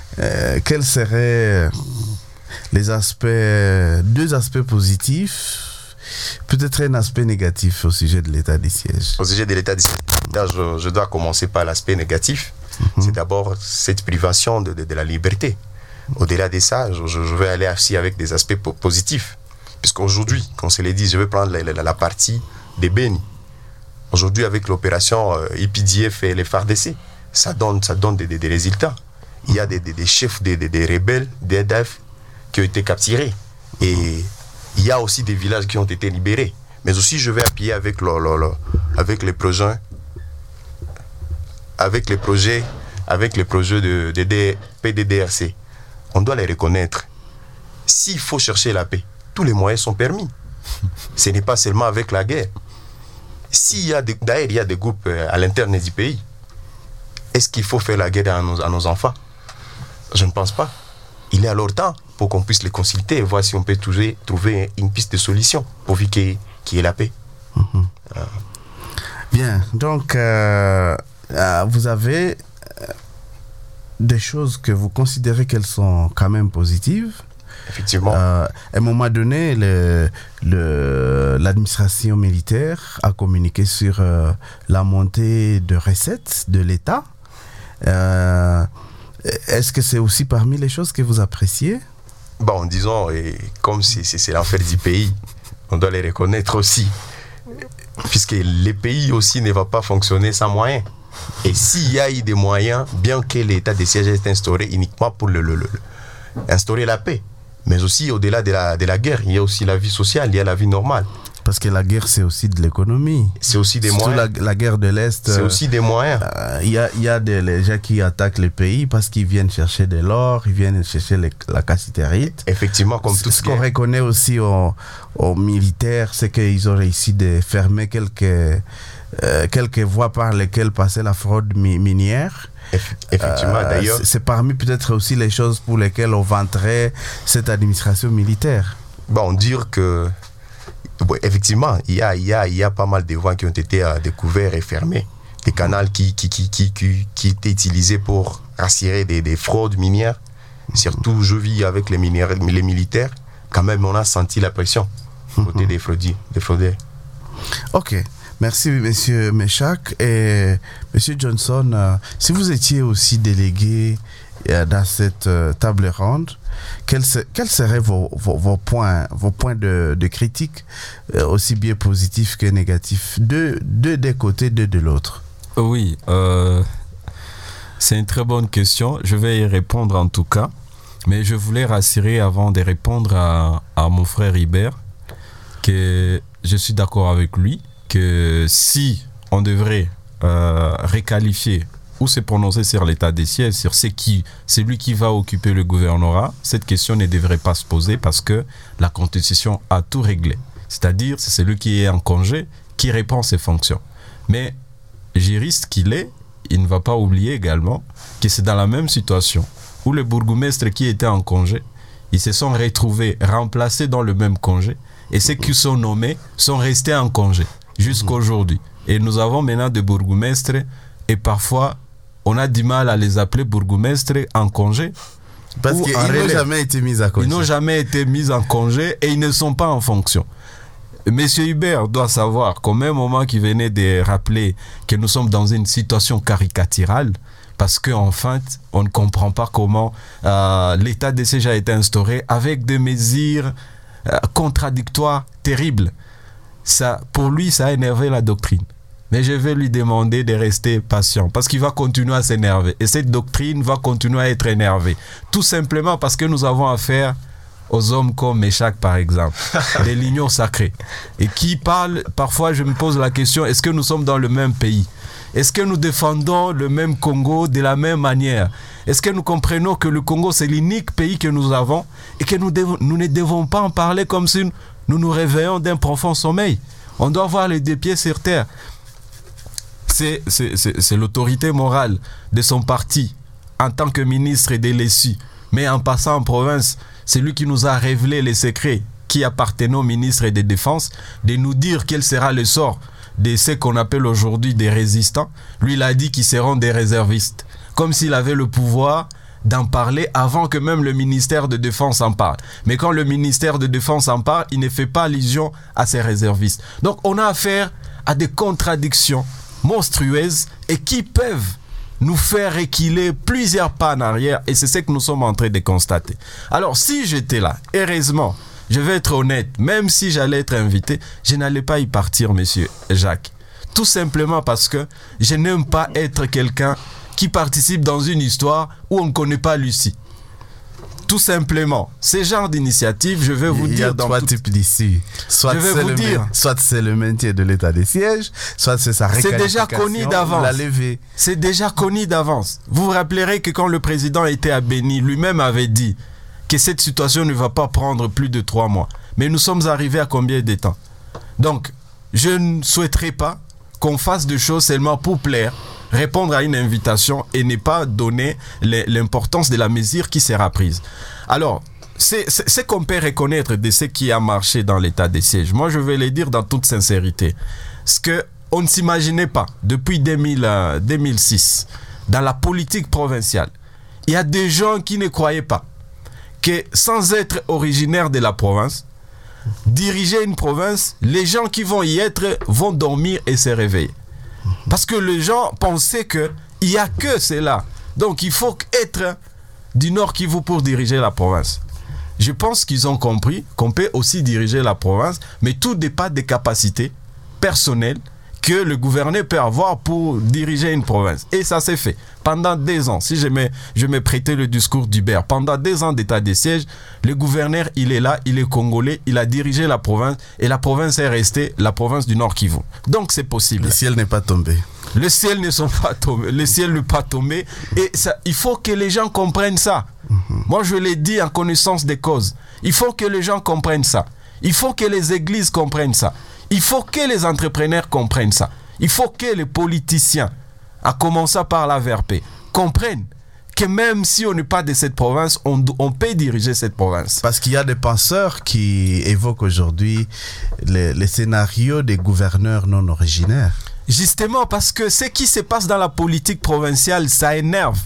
euh, quels seraient les aspects, deux aspects positifs, peut-être un aspect négatif au sujet de l'état des sièges? Au sujet de l'état des sièges, je, je dois commencer par l'aspect négatif. Mm-hmm. C'est d'abord cette privation de, de, de la liberté. Au-delà de ça, je, je vais aller aussi avec des aspects po- positifs. Puisqu'aujourd'hui, comme je l'ai dit, je vais prendre la, la, la partie des Béni. Aujourd'hui, avec l'opération euh, E P D F et les F A R D C, ça donne, ça donne des, des, des résultats. Il y a des, des, des chefs des, des, des rebelles, des E D F, qui ont été capturés. Et il y a aussi des villages qui ont été libérés. Mais aussi, je vais appuyer avec, le, le, le, avec les projets, avec les projets, avec les projets de, de, de P D D R C. On doit les reconnaître. S'il faut chercher la paix, tous les moyens sont permis. Ce n'est pas seulement avec la guerre. S'il y a des, d'ailleurs, il y a des groupes à l'interne du pays, est-ce qu'il faut faire la guerre à nos, à nos enfants? Je ne pense pas. Il est alors temps pour qu'on puisse les consulter et voir si on peut trouver, trouver une piste de solution pourvu qu'il y, qu'il y ait la paix. Mmh. Euh. Bien, donc euh, euh, vous avez euh, des choses que vous considérez qu'elles sont quand même positives. Effectivement. Euh, à un moment donné, le, le, l'administration militaire a communiqué sur euh, la montée de recettes de l'État. Euh, est-ce que c'est aussi parmi les choses que vous appréciez? Bon, disons, et comme c'est, c'est, c'est l'enfer du pays, on doit les reconnaître aussi. Puisque le pays aussi ne va pas fonctionner sans moyens. Et s'il y a eu des moyens, bien que l'état de siège est instauré uniquement pour le, le, le, instaurer la paix, mais aussi au-delà de la, de la guerre, il y a aussi la vie sociale, il y a la vie normale. Parce que la guerre, c'est aussi de l'économie. C'est aussi des Surtout moyens. La, la guerre de l'Est. C'est euh, aussi des moyens. Il euh, y, y a des les gens qui attaquent les pays parce qu'ils viennent chercher de l'or, ils viennent chercher les, la cassiterite. Effectivement, comme tout ce qu'on reconnaît aussi aux, aux militaires, c'est qu'ils ont réussi de fermer quelques, euh, quelques voies par lesquelles passait la fraude mi- minière. Effectivement, euh, d'ailleurs. C'est, c'est parmi peut-être aussi les choses pour lesquelles on vanterait cette administration militaire. Bon, dire que bon, effectivement, il y a, il y, a, il y a pas mal de voies qui ont été euh, découvertes et fermées. Des canaux qui, qui, qui, qui, qui, qui étaient utilisés pour assurer des, des fraudes minières. Surtout, je vis avec les, minières, les militaires. Quand même, on a senti la pression côté des fraudeurs. Des fraudeurs. Ok. Merci, monsieur Méchac. Et monsieur Johnson, euh, si vous étiez aussi délégué euh, dans cette euh, table ronde, quels, quels seraient vos, vos, vos points, vos points de, de critique, euh, aussi bien positifs que négatifs, de, de des côtés, de de l'autre? Oui, euh, c'est une très bonne question. Je vais y répondre en tout cas. Mais je voulais rassurer avant de répondre à, à mon frère Hubert que je suis d'accord avec lui. Que si on devrait euh, requalifier ou se prononcer sur l'état des sièges, sur c'est qui, c'est lui qui va occuper le gouvernorat, cette question ne devrait pas se poser parce que la Constitution a tout réglé. C'est-à-dire, c'est celui qui est en congé qui répond ses fonctions. Mais juriste qu'il est, il ne va pas oublier également que c'est dans la même situation où les bourgmestres qui étaient en congé, ils se sont retrouvés remplacés dans le même congé et ceux qui sont nommés sont restés en congé jusqu'à aujourd'hui. Et nous avons maintenant des bourgmestres et parfois on a du mal à les appeler bourgmestres en congé. Parce qu'ils n'ont jamais été mis en congé. Ils n'ont jamais été mis en congé et ils ne sont pas en fonction. Monsieur Hubert doit savoir qu'au même moment qu'il venait de rappeler que nous sommes dans une situation caricaturale, parce qu'en fait, on ne comprend pas comment euh, l'état de siège a été instauré avec des mesures euh, contradictoires terribles. Ça, pour lui, ça a énervé la doctrine. Mais je vais lui demander de rester patient parce qu'il va continuer à s'énerver. Et cette doctrine va continuer à être énervée. Tout simplement parce que nous avons affaire aux hommes comme Méchac, par exemple, des lignons sacrés. Et qui parlent, parfois je me pose la question, est-ce que nous sommes dans le même pays? Est-ce que nous défendons le même Congo de la même manière? Est-ce que nous comprenons que le Congo, c'est l'unique pays que nous avons et que nous, devons, nous ne devons pas en parler comme si nous nous réveillons d'un profond sommeil? On doit avoir les deux pieds sur terre. C'est, c'est, c'est, c'est l'autorité morale de son parti en tant que ministre de l'E S U. Mais en passant en province, c'est lui qui nous a révélé les secrets qui appartenaient au ministre de Défense, de nous dire quel sera le sort de ce qu'on appelle aujourd'hui des résistants. Lui, il a dit qu'ils seront des réservistes. Comme s'il avait le pouvoir d'en parler avant que même le ministère de Défense en parle. Mais quand le ministère de Défense en parle, il ne fait pas allusion à ces réservistes. Donc on a affaire à des contradictions monstrueuses et qui peuvent nous faire reculer plusieurs pas en arrière, et c'est ce que nous sommes en train de constater. Alors si j'étais là, heureusement, je vais être honnête, même si j'allais être invité, je n'allais pas y partir, monsieur Jacques. Tout simplement parce que je n'aime pas être quelqu'un qui participe dans une histoire où on ne connaît pas Lucie. Tout simplement, ce genre d'initiative, je vais vous Il y dire a dans trois tout... types d'ici. Soit je vais c'est vous le dire, main- soit c'est le maintien de l'état des sièges, soit c'est sa c'est réqualification. déjà connu d'avance. La levée. C'est déjà connu d'avance. Vous vous rappellerez que quand le président était à Béni, lui-même avait dit que cette situation ne va pas prendre plus de trois mois. Mais nous sommes arrivés à combien de temps? Donc, je ne souhaiterais pas qu'on fasse des choses seulement pour plaire, répondre à une invitation et ne pas donner l'importance de la mesure qui sera prise. Alors, c'est ce qu'on peut reconnaître de ce qui a marché dans l'état des sièges. Moi, je vais le dire dans toute sincérité. Ce qu'on ne s'imaginait pas depuis deux mille, deux mille six, dans la politique provinciale, il y a des gens qui ne croyaient pas que sans être originaires de la province, diriger une province, les gens qui vont y être vont dormir et se réveiller. Parce que les gens pensaient qu'il n'y a que cela. Donc il faut être du Nord Kivu pour diriger la province. Je pense qu'ils ont compris qu'on peut aussi diriger la province, mais tout dépend des capacités personnelles que le gouverneur peut avoir pour diriger une province. Et ça s'est fait. Pendant deux ans, si je me, je me prêtais le discours d'Hubert, pendant deux ans d'état de siège, le gouverneur, il est là, il est congolais, il a dirigé la province, et la province est restée la province du Nord Kivu. Donc c'est possible. Le ciel n'est pas tombé. Le ciel ne sont pas tombés, le ciel n'est pas tombé, et ça, il faut que les gens comprennent ça. Mm-hmm. Moi, je l'ai dit en connaissance des causes. Il faut que les gens comprennent ça. Il faut que les églises comprennent ça. Il faut que les entrepreneurs comprennent ça. Il faut que les politiciens, à commencer par la V R P, comprennent que même si on n'est pas de cette province, on, on peut diriger cette province. Parce qu'il y a des penseurs qui évoquent aujourd'hui les, les scénarios des gouverneurs non originaires. Justement, parce que ce qui se passe dans la politique provinciale, ça énerve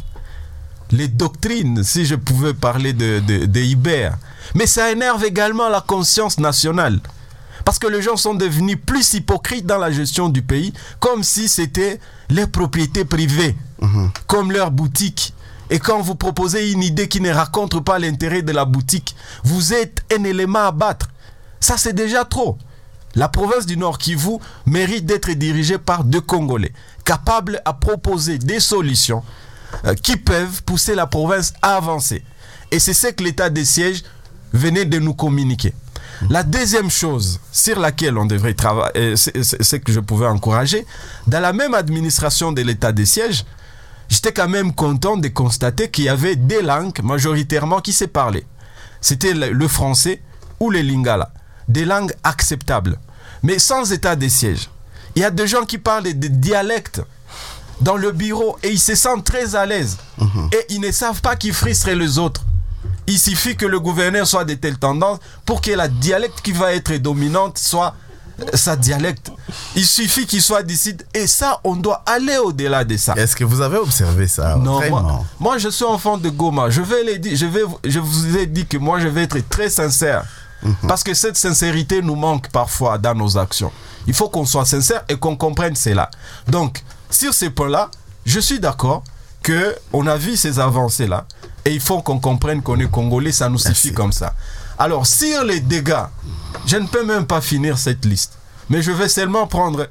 les doctrines, si je pouvais parler de, de, de Hubert. Mais ça énerve également la conscience nationale. Parce que les gens sont devenus plus hypocrites dans la gestion du pays, comme si c'était les propriétés privées, mmh. comme leur boutique. Et quand vous proposez une idée qui ne raconte pas l'intérêt de la boutique, vous êtes un élément à battre. Ça, c'est déjà trop. La province du Nord Kivu mérite d'être dirigée par deux Congolais, capables à proposer des solutions euh, qui peuvent pousser la province à avancer. Et c'est ce que l'état des sièges venait de nous communiquer. La deuxième chose sur laquelle on devrait travailler, c'est ce que je pouvais encourager, dans la même administration de l'état des sièges, j'étais quand même content de constater qu'il y avait des langues majoritairement qui se parlaient. C'était le français ou le lingala, des langues acceptables. Mais sans état des sièges, il y a des gens qui parlent des dialectes dans le bureau et ils se sentent très à l'aise. Mmh. Et ils ne savent pas qu'ils frustrent les autres. Il suffit que le gouverneur soit de telle tendance pour que la dialecte qui va être dominante soit sa dialecte. Il suffit qu'il soit d'ici. Et ça, on doit aller au-delà de ça. Est-ce que vous avez observé ça? Non, moi, moi, je suis enfant de Goma. Je, vais les dire, je, vais, je vous ai dit que moi, je vais être très sincère. Mm-hmm. Parce que cette sincérité nous manque parfois dans nos actions. Il faut qu'on soit sincère et qu'on comprenne cela. Donc, sur ces points-là, je suis d'accord qu'on a vu ces avancées-là. Et il faut qu'on comprenne qu'on est Congolais, ça nous suffit Merci. Comme ça. Alors, sur les dégâts, je ne peux même pas finir cette liste. Mais je vais seulement prendre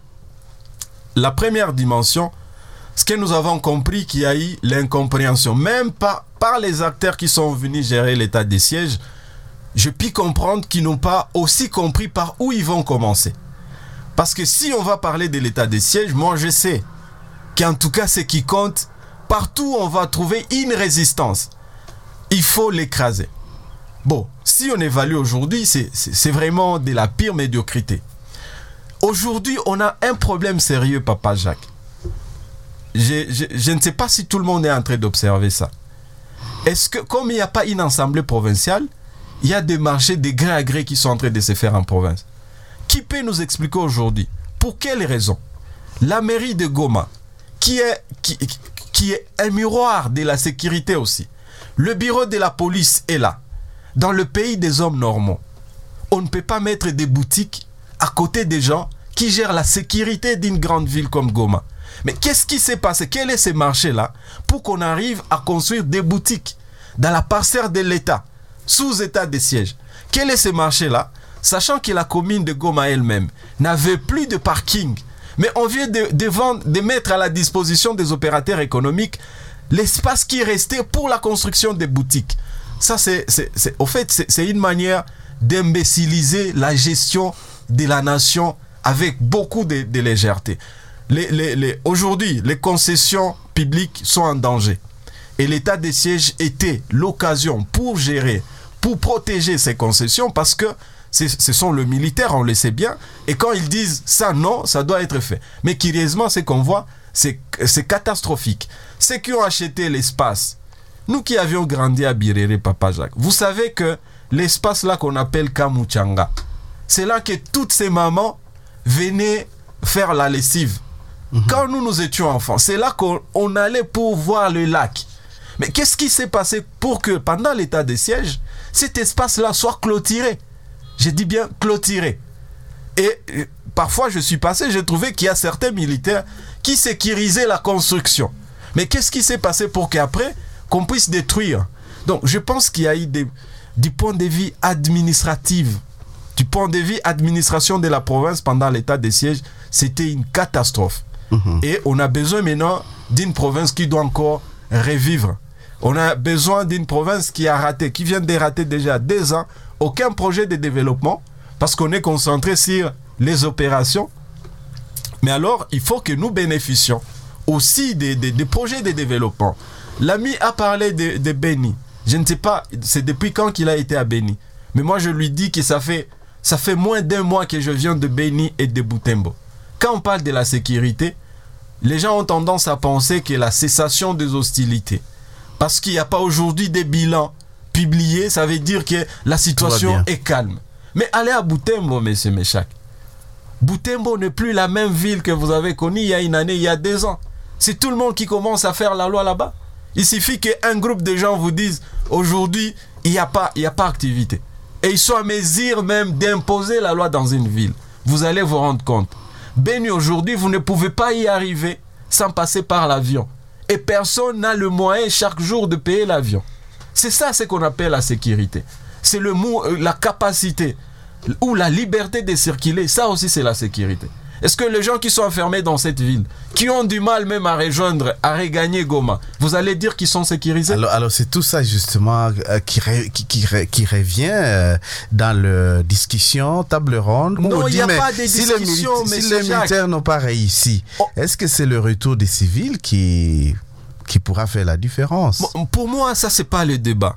la première dimension, ce que nous avons compris qu'il y a eu l'incompréhension. Même par, par les acteurs qui sont venus gérer l'état des sièges, je puis comprendre qu'ils n'ont pas aussi compris par où ils vont commencer. Parce que si on va parler de l'état des sièges, moi je sais qu'en tout cas, ce qui compte, partout on va trouver une résistance. Il faut l'écraser. Bon, si on évalue aujourd'hui, c'est vraiment de la pire médiocrité. Aujourd'hui, on a un problème sérieux, Papa Jacques. Je, je, je ne sais pas si tout le monde est en train d'observer ça. Est-ce que, comme il n'y a pas une assemblée provinciale, il y a des marchés de gré à gré qui sont en train de se faire en province? Qui peut nous expliquer aujourd'hui pour quelles raisons la mairie de Goma, qui est, qui, qui est un miroir de la sécurité aussi, Le bureau de la police est là. Dans le pays des hommes normaux, on ne peut pas mettre des boutiques à côté des gens qui gèrent la sécurité d'une grande ville comme Goma. Mais qu'est-ce qui s'est passé? Quel est ce marché-là pour qu'on arrive à construire des boutiques dans la parcelle de l'État, sous état de siège? Quel est ce marché-là? Sachant que la commune de Goma elle-même n'avait plus de parking, mais on vient de, de, vendre, de mettre à la disposition des opérateurs économiques l'espace qui restait pour la construction des boutiques. Ça, c'est, c'est, c'est, au fait, c'est, c'est une manière d'imbéciliser la gestion de la nation avec beaucoup de, de légèreté. Les, les, les, aujourd'hui, les concessions publiques sont en danger. Et l'état de siège était l'occasion pour gérer, pour protéger ces concessions, parce que ce sont les militaires, on le sait bien. Et quand ils disent ça, non, ça doit être fait. Mais curieusement, ce qu'on voit, c'est, c'est catastrophique. Ceux qui ont acheté l'espace, nous qui avions grandi à Birere, Papa Jacques, vous savez que l'espace là qu'on appelle Kamuchanga, c'est là que toutes ces mamans venaient faire la lessive. Mm-hmm. Quand nous, nous étions enfants, c'est là qu'on on allait pour voir le lac. Mais qu'est-ce qui s'est passé pour que pendant l'état de siège, cet espace-là soit clôturé? Je dis bien clôturé. Et euh, parfois, je suis passé, j'ai trouvé qu'il y a certains militaires qui sécurisaient la construction. Mais qu'est-ce qui s'est passé pour qu'après, qu'on puisse détruire? Donc, je pense qu'il y a eu des, du point de vue administratif, du point de vue administration de la province pendant l'état de siège, c'était une catastrophe. Mmh. Et on a besoin maintenant d'une province qui doit encore revivre. On a besoin d'une province qui a raté, qui vient de rater déjà deux ans, aucun projet de développement, parce qu'on est concentré sur les opérations. Mais alors, il faut que nous bénéficions aussi des, des, des projets de développement. L'ami a parlé de, de Beni. Je ne sais pas, c'est depuis quand qu'il a été à Beni. Mais moi, je lui dis que ça fait, ça fait moins d'un mois que je viens de Beni et de Butembo. Quand on parle de la sécurité, les gens ont tendance à penser que la cessation des hostilités, parce qu'il n'y a pas aujourd'hui des bilans publiés, ça veut dire que la situation est calme. Mais allez à Butembo, monsieur Méchac. Butembo n'est plus la même ville que vous avez connue il y a une année, il y a deux ans. C'est tout le monde qui commence à faire la loi là-bas. Il suffit qu'un groupe de gens vous dise aujourd'hui, il n'y a pas, il n'y a pas activité. Et ils sont à mesure même d'imposer la loi dans une ville. Vous allez vous rendre compte. Beni, aujourd'hui, vous ne pouvez pas y arriver sans passer par l'avion. Et personne n'a le moyen chaque jour de payer l'avion. C'est ça ce qu'on appelle la sécurité. C'est le mot, la capacité ou la liberté de circuler. Ça aussi, c'est la sécurité. Est-ce que les gens qui sont enfermés dans cette ville, qui ont du mal même à rejoindre, à regagner Goma, vous allez dire qu'ils sont sécurisés? Alors, alors c'est tout ça justement euh, qui, re, qui, qui, qui revient euh, dans la discussion, table ronde. Non, il n'y a dit, pas de si discussion, mais si les militaires n'ont pas réussi, oh. Est-ce que c'est le retour des civils qui, qui pourra faire la différence? Bon, pour moi, ça, c'est pas le débat.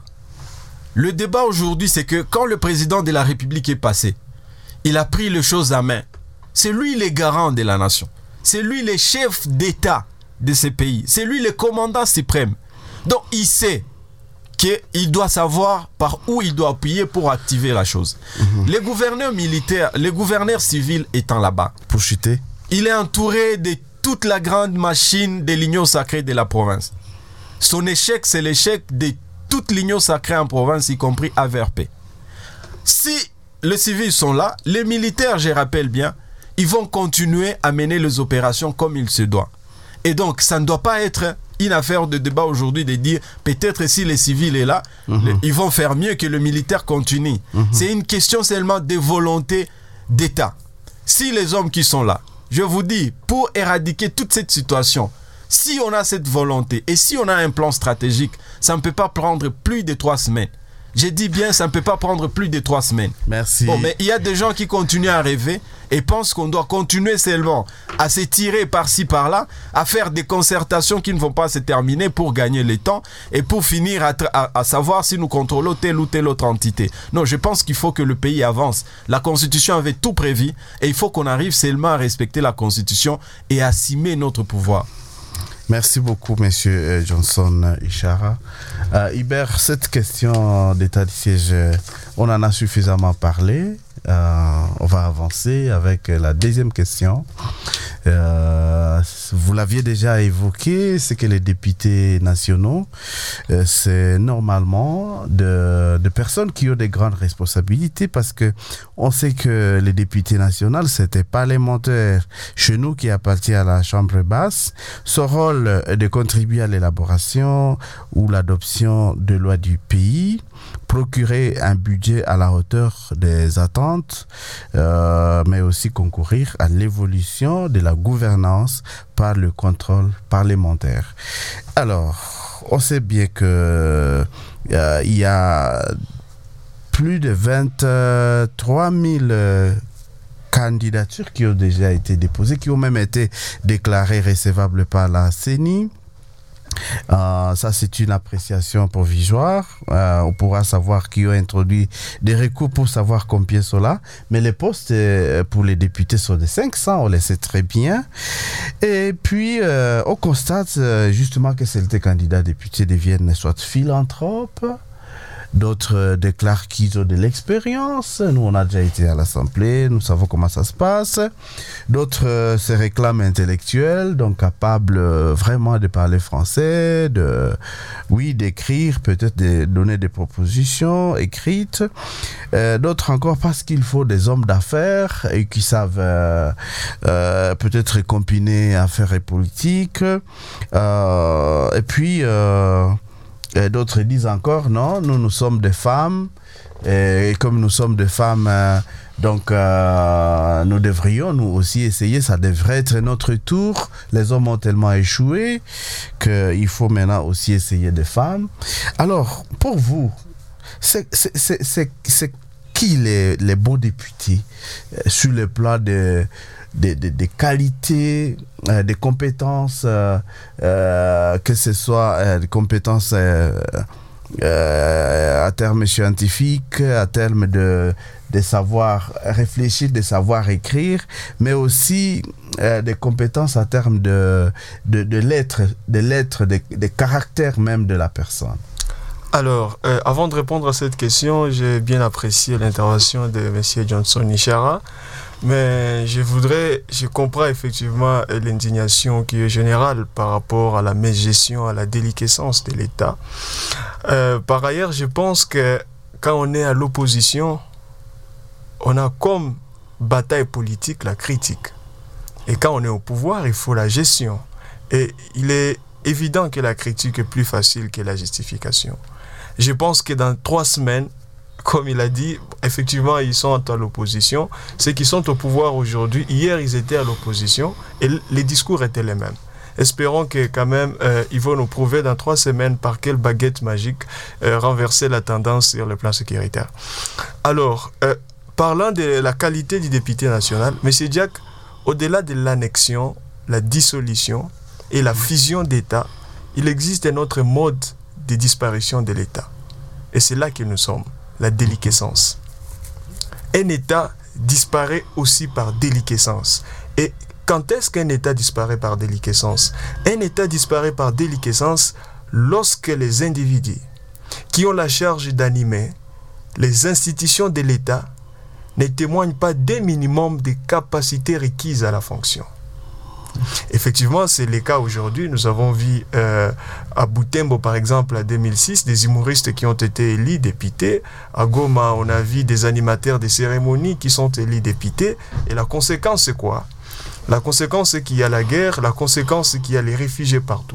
Le débat aujourd'hui, c'est que quand le président de la République est passé, il a pris les choses à main. C'est lui le garant de la nation. C'est lui le chef d'État de ce pays. C'est lui le commandant suprême. Donc il sait qu'il doit savoir par où il doit appuyer pour activer la chose. Mmh. Les gouverneurs militaires, les gouverneurs civils étant là-bas, pour chuter, il est entouré de toute la grande machine de l'union sacrée de la province. Son échec, c'est l'échec de toute l'union sacrée en province, y compris A V R P. Si les civils sont là, les militaires, je rappelle bien, ils vont continuer à mener les opérations comme il se doit. Et donc, ça ne doit pas être une affaire de débat aujourd'hui de dire peut-être si les civils sont là, mmh. le, ils vont faire mieux que le militaire continue. Mmh. C'est une question seulement de volonté d'État. Si les hommes qui sont là, je vous dis, pour éradiquer toute cette situation, si on a cette volonté et si on a un plan stratégique, ça ne peut pas prendre plus de trois semaines. J'ai dit bien, ça ne peut pas prendre plus de trois semaines. Merci. Bon, mais il y a des gens qui continuent à rêver et pensent qu'on doit continuer seulement à se tirer par-ci, par-là, à faire des concertations qui ne vont pas se terminer pour gagner le temps et pour finir à, à, à savoir si nous contrôlons telle ou telle autre entité. Non, je pense qu'il faut que le pays avance. La Constitution avait tout prévu et il faut qu'on arrive seulement à respecter la Constitution et à assumer notre pouvoir. Merci beaucoup, monsieur Johnson Ishara. Euh, Hubert, cette question d'état de siège, on en a suffisamment parlé. Euh, on va avancer avec la deuxième question. Euh, vous l'aviez déjà évoqué, c'est que les députés nationaux, euh, c'est normalement de, de personnes qui ont des grandes responsabilités parce que on sait que les députés nationaux, c'est des parlementaires chez nous qui appartient à la Chambre basse. Son rôle est de contribuer à l'élaboration ou l'adoption de lois du pays, procurer un budget à la hauteur des attentes, euh, mais aussi concourir à l'évolution de la gouvernance par le contrôle parlementaire. Alors, on sait bien que euh, il y a plus de vingt-trois mille euh, candidatures qui ont déjà été déposées, qui ont même été déclarées recevables par la C E N I. Euh, ça, c'est une appréciation provisoire. Euh, on pourra savoir qui ont introduit des recours pour savoir combien sont là. Mais les postes euh, pour les députés sont de cinq cents, on le sait très bien. Et puis, euh, on constate euh, justement que certains candidats députés deviennent soit philanthropes, d'autres euh, déclarent qu'ils ont de l'expérience. Nous, on a déjà été à l'Assemblée, nous savons comment ça se passe. D'autres euh, se réclament intellectuels, donc capables euh, vraiment de parler français, de, oui, d'écrire, peut-être de donner des propositions écrites. Euh, d'autres encore parce qu'il faut des hommes d'affaires et qui savent euh, euh, peut-être combiner affaires et politique. Euh, et puis... Euh, Et d'autres disent encore, non, nous, nous sommes des femmes, et comme nous sommes des femmes, euh, donc euh, nous devrions nous aussi essayer, ça devrait être notre tour. Les hommes ont tellement échoué qu'il faut maintenant aussi essayer des femmes. Alors, pour vous, c'est, c'est, c'est, c'est, c'est qui les, les beaux députés euh, sur le plan de... Des, des, des qualités, euh, des compétences, euh, euh, que ce soit euh, des compétences euh, euh, à terme scientifique, à terme de, de savoir réfléchir, de savoir écrire, mais aussi euh, des compétences à terme de, de, de l'être, de l'être, de, de caractère même de la personne. Alors, euh, avant de répondre à cette question, j'ai bien apprécié l'intervention de M. Johnson Ishara. Mais je voudrais, je comprends effectivement l'indignation qui est générale par rapport à la mégestion, à la déliquescence de l'État. Euh, par ailleurs, je pense que quand on est à l'opposition, on a comme bataille politique la critique. Et quand on est au pouvoir, il faut la gestion. Et il est évident que la critique est plus facile que la justification. Je pense que dans trois semaines, comme il a dit, effectivement, ils sont à l'opposition. Ceux qui sont au pouvoir aujourd'hui, hier, ils étaient à l'opposition et les discours étaient les mêmes. Espérons que quand même, euh, ils vont nous prouver dans trois semaines par quelle baguette magique euh, renverser la tendance sur le plan sécuritaire. Alors, euh, parlant de la qualité du député national, M. Diack, au-delà de l'annexion, la dissolution et la fusion d'États, il existe un autre mode de disparition de l'État. Et c'est là que nous sommes. La déliquescence. Un État disparaît aussi par déliquescence. Et quand est-ce qu'un État disparaît par déliquescence? Un État disparaît par déliquescence lorsque les individus qui ont la charge d'animer les institutions de l'État ne témoignent pas d'un minimum des capacités requises à la fonction. Effectivement, c'est le cas aujourd'hui. Nous avons vu euh, à Butembo, par exemple, en deux mille six, des humoristes qui ont été élus députés. À Goma, on a vu des animateurs de cérémonies qui sont élus députés. Et la conséquence, c'est quoi? La conséquence, c'est qu'il y a la guerre. La conséquence, c'est qu'il y a les réfugiés partout.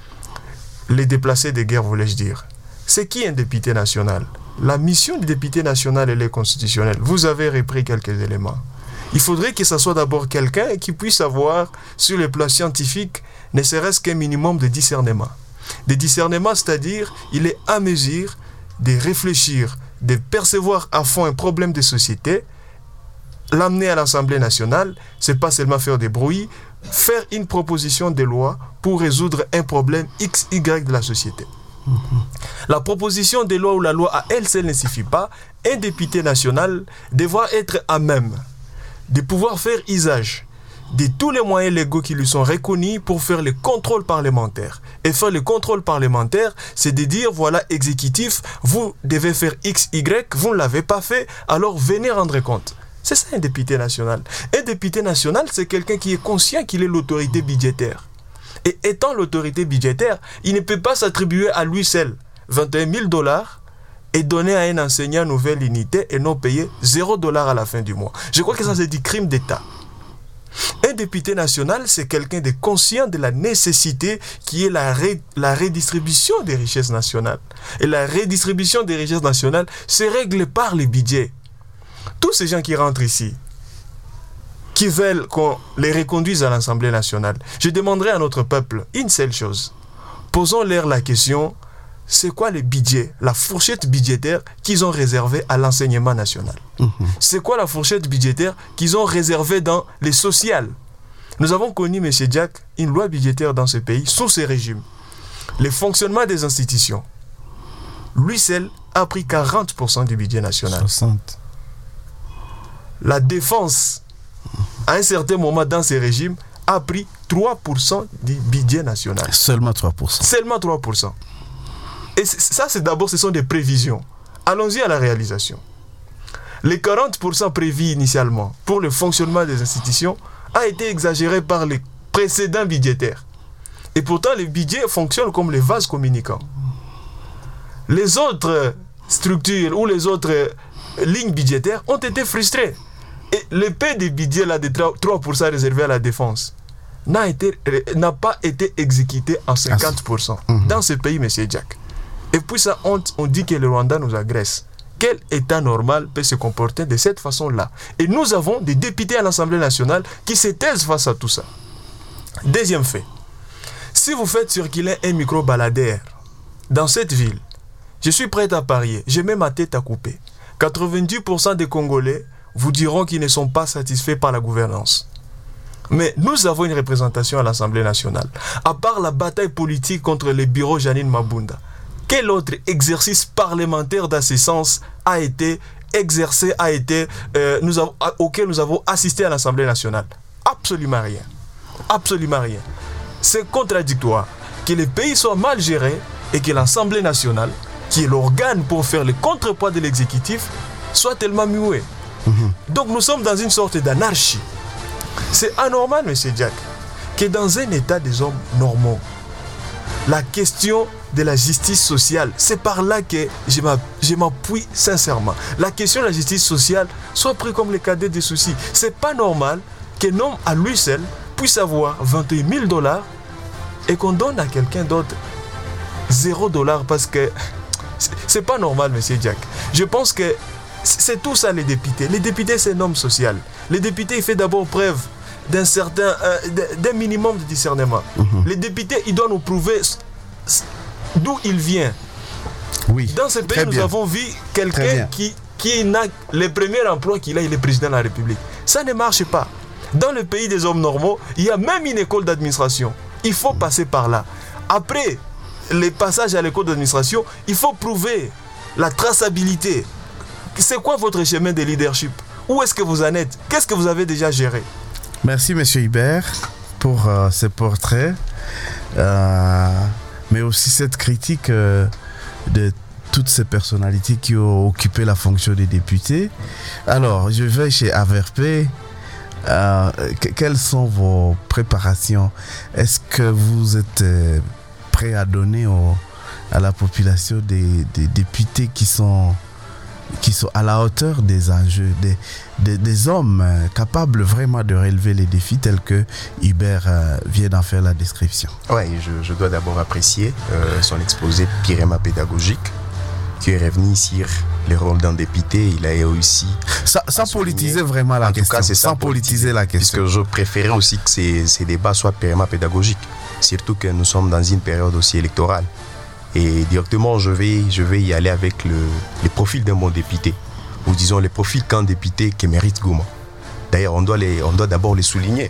Les déplacés de guerre, voulais-je dire. C'est qui un député national? La mission du député national, elle est constitutionnelle. Vous avez repris quelques éléments. Il faudrait que ce soit d'abord quelqu'un qui puisse avoir, sur le plan scientifique, ne serait-ce qu'un minimum de discernement. De discernement, c'est-à-dire, il est à mesure de réfléchir, de percevoir à fond un problème de société, l'amener à l'Assemblée nationale, c'est pas seulement faire des bruits, faire une proposition de loi pour résoudre un problème X, Y de la société. Mmh. La proposition de loi ou la loi à elle seule ne suffit pas. Un député national devra être à même de pouvoir faire usage de tous les moyens légaux qui lui sont reconnus pour faire le contrôle parlementaire. Et faire le contrôle parlementaire, c'est de dire, voilà, exécutif, vous devez faire X, Y, vous ne l'avez pas fait, alors venez rendre compte. C'est ça un député national. Un député national, c'est quelqu'un qui est conscient qu'il est l'autorité budgétaire. Et étant l'autorité budgétaire, il ne peut pas s'attribuer à lui seul vingt et un mille dollars et donner à un enseignant nouvelle unité et non payer zéro dollar à la fin du mois. Je crois que ça, c'est du crime d'État. Un député national, c'est quelqu'un de conscient de la nécessité qui est la, ré, la redistribution des richesses nationales. Et la redistribution des richesses nationales se règle par les budgets. Tous ces gens qui rentrent ici, qui veulent qu'on les reconduise à l'Assemblée nationale, je demanderai à notre peuple une seule chose. Posons-leur la question, c'est quoi le budget, la fourchette budgétaire qu'ils ont réservée à l'enseignement national? Mmh. C'est quoi la fourchette budgétaire qu'ils ont réservée dans les sociales? Nous avons connu, M. Jack, une loi budgétaire dans ce pays, sous ce régime. Le fonctionnement des institutions, lui seul, a pris quarante pour cent du budget national. soixante. La défense, à un certain moment dans ce régime, a pris trois pour cent du budget national. Seulement trois pour cent. Seulement trois pour cent. Et ça, c'est d'abord, ce sont des prévisions. Allons-y à la réalisation. Les quarante pour cent prévus initialement pour le fonctionnement des institutions a été exagéré par les précédents budgétaires. Et pourtant, les budgets fonctionnent comme les vases communicants. Les autres structures ou les autres lignes budgétaires ont été frustrées. Et l'épée des budgets là, de trois pour cent réservé à la défense n'a, été, n'a pas été exécuté en cinquante pour cent mmh. dans ce pays, M. Jack. Et puis ça, on, on dit que le Rwanda nous agresse. Quel État normal peut se comporter de cette façon-là? Et nous avons des députés à l'Assemblée nationale qui se taisent face à tout ça. Deuxième fait. Si vous faites circuler un micro-baladeur dans cette ville, je suis prêt à parier, je mets ma tête à couper. quatre-vingt-dix pour cent des Congolais vous diront qu'ils ne sont pas satisfaits par la gouvernance. Mais nous avons une représentation à l'Assemblée nationale. À part la bataille politique contre les bureaux Janine Mabunda, quel autre exercice parlementaire d'assistance a été exercé, a été, euh, nous avons, auquel nous avons assisté à l'Assemblée nationale? Absolument rien. Absolument rien. C'est contradictoire que les pays soient mal gérés et que l'Assemblée nationale, qui est l'organe pour faire le contrepoids de l'exécutif, soit tellement muet. Mmh. Donc nous sommes dans une sorte d'anarchie. C'est anormal, M. Jack, que dans un état des hommes normaux, la question de la justice sociale, c'est par là que je m'appuie sincèrement. La question de la justice sociale soit prise comme le cadet des soucis. C'est pas normal qu'un homme à lui seul puisse avoir vingt et un mille dollars et qu'on donne à quelqu'un d'autre zéro dollar parce que c'est pas normal, M. Jack. Je pense que c'est tout ça les députés. Les députés, c'est un homme social. Les députés, il fait d'abord preuve d'un certain, euh, d'un minimum de discernement. Mm-hmm. Les députés, ils doivent nous prouver d'où il vient. Oui. Dans ce pays, nous bien. avons vu quelqu'un qui, qui n'a le premier emploi qu'il a, il est président de la République. Ça ne marche pas. Dans le pays des hommes normaux, il y a même une école d'administration. Il faut passer par là. Après les passages à l'école d'administration, il faut prouver la traçabilité. C'est quoi votre chemin de leadership? Où est-ce que vous en êtes? Qu'est-ce que vous avez déjà géré? Merci, M. Hubert, pour euh, ce portrait, euh, mais aussi cette critique euh, de toutes ces personnalités qui ont occupé la fonction des députés. Alors, je vais chez A V R P. Euh, que, quelles sont vos préparations? Est-ce que vous êtes euh, prêt à donner au, à la population des, des députés qui sont qui sont à la hauteur des enjeux, des, des, des hommes euh, capables vraiment de relever les défis tels que Hubert euh, vient d'en faire la description? Oui, je, je dois d'abord apprécier euh, son exposé pyréma pédagogique qui est revenu sur les rôles d'un député. Il a réussi. Sans, sans politiser vraiment la en question. Tout cas, c'est sans politiser la question. Parce que je préférais aussi que ces, ces débats soient pyréma pédagogiques. Surtout que nous sommes dans une période aussi électorale. Et directement, je vais, je vais y aller avec le, le profil d'un bon député. Ou disons, le profil qu'un député qui mérite Goma. D'ailleurs, on doit, les, on doit d'abord les souligner.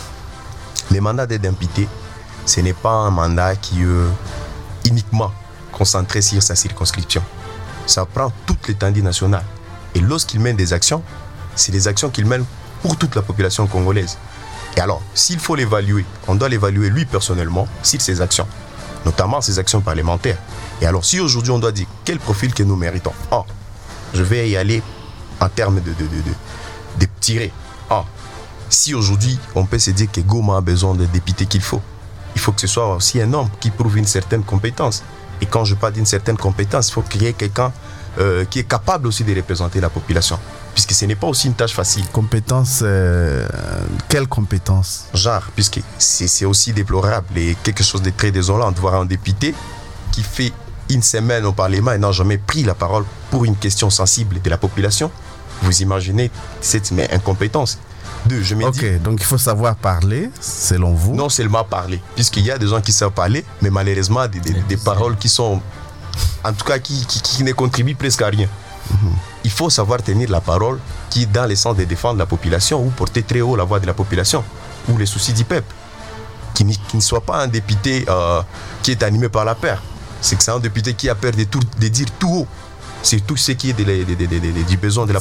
Le mandat d'un député, ce n'est pas un mandat qui est uniquement concentré sur sa circonscription. Ça prend toute l'étendue nationale. Et lorsqu'il mène des actions, c'est des actions qu'il mène pour toute la population congolaise. Et alors, s'il faut l'évaluer, on doit l'évaluer lui personnellement sur ses actions, notamment ses actions parlementaires. Et alors, si aujourd'hui on doit dire quel profil que nous méritons, oh, je vais y aller en termes de, de, de, de, de tirer. Ah, si aujourd'hui on peut se dire que Goma a besoin de députés qu'il faut, il faut que ce soit aussi un homme qui prouve une certaine compétence. Et quand je parle d'une certaine compétence, il faut créer quelqu'un euh, qui est capable aussi de représenter la population. Puisque ce n'est pas aussi une tâche facile. Compétence, euh, quelle compétence? Genre, puisque c'est, c'est aussi déplorable et quelque chose de très désolant de voir un député qui fait une semaine au Parlement et n'a jamais pris la parole pour une question sensible de la population. Vous imaginez cette mais, incompétence. Deux, je me Ok, dis, donc il faut savoir parler, selon vous. non seulement parler, puisqu'il y a des gens qui savent parler, mais malheureusement des, des, des paroles qui sont, en tout cas, qui, qui, qui ne contribuent presque à rien. Mm-hmm. Il faut savoir tenir la parole qui est dans le sens de défendre la population ou porter très haut la voix de la population ou les soucis du peuple. Qui, qui ne soit pas un député euh, qui est animé par la peur. C'est que c'est un député qui a peur de, tout, de dire tout haut. C'est tout ce qui est de, de, de, de, de, du besoin de la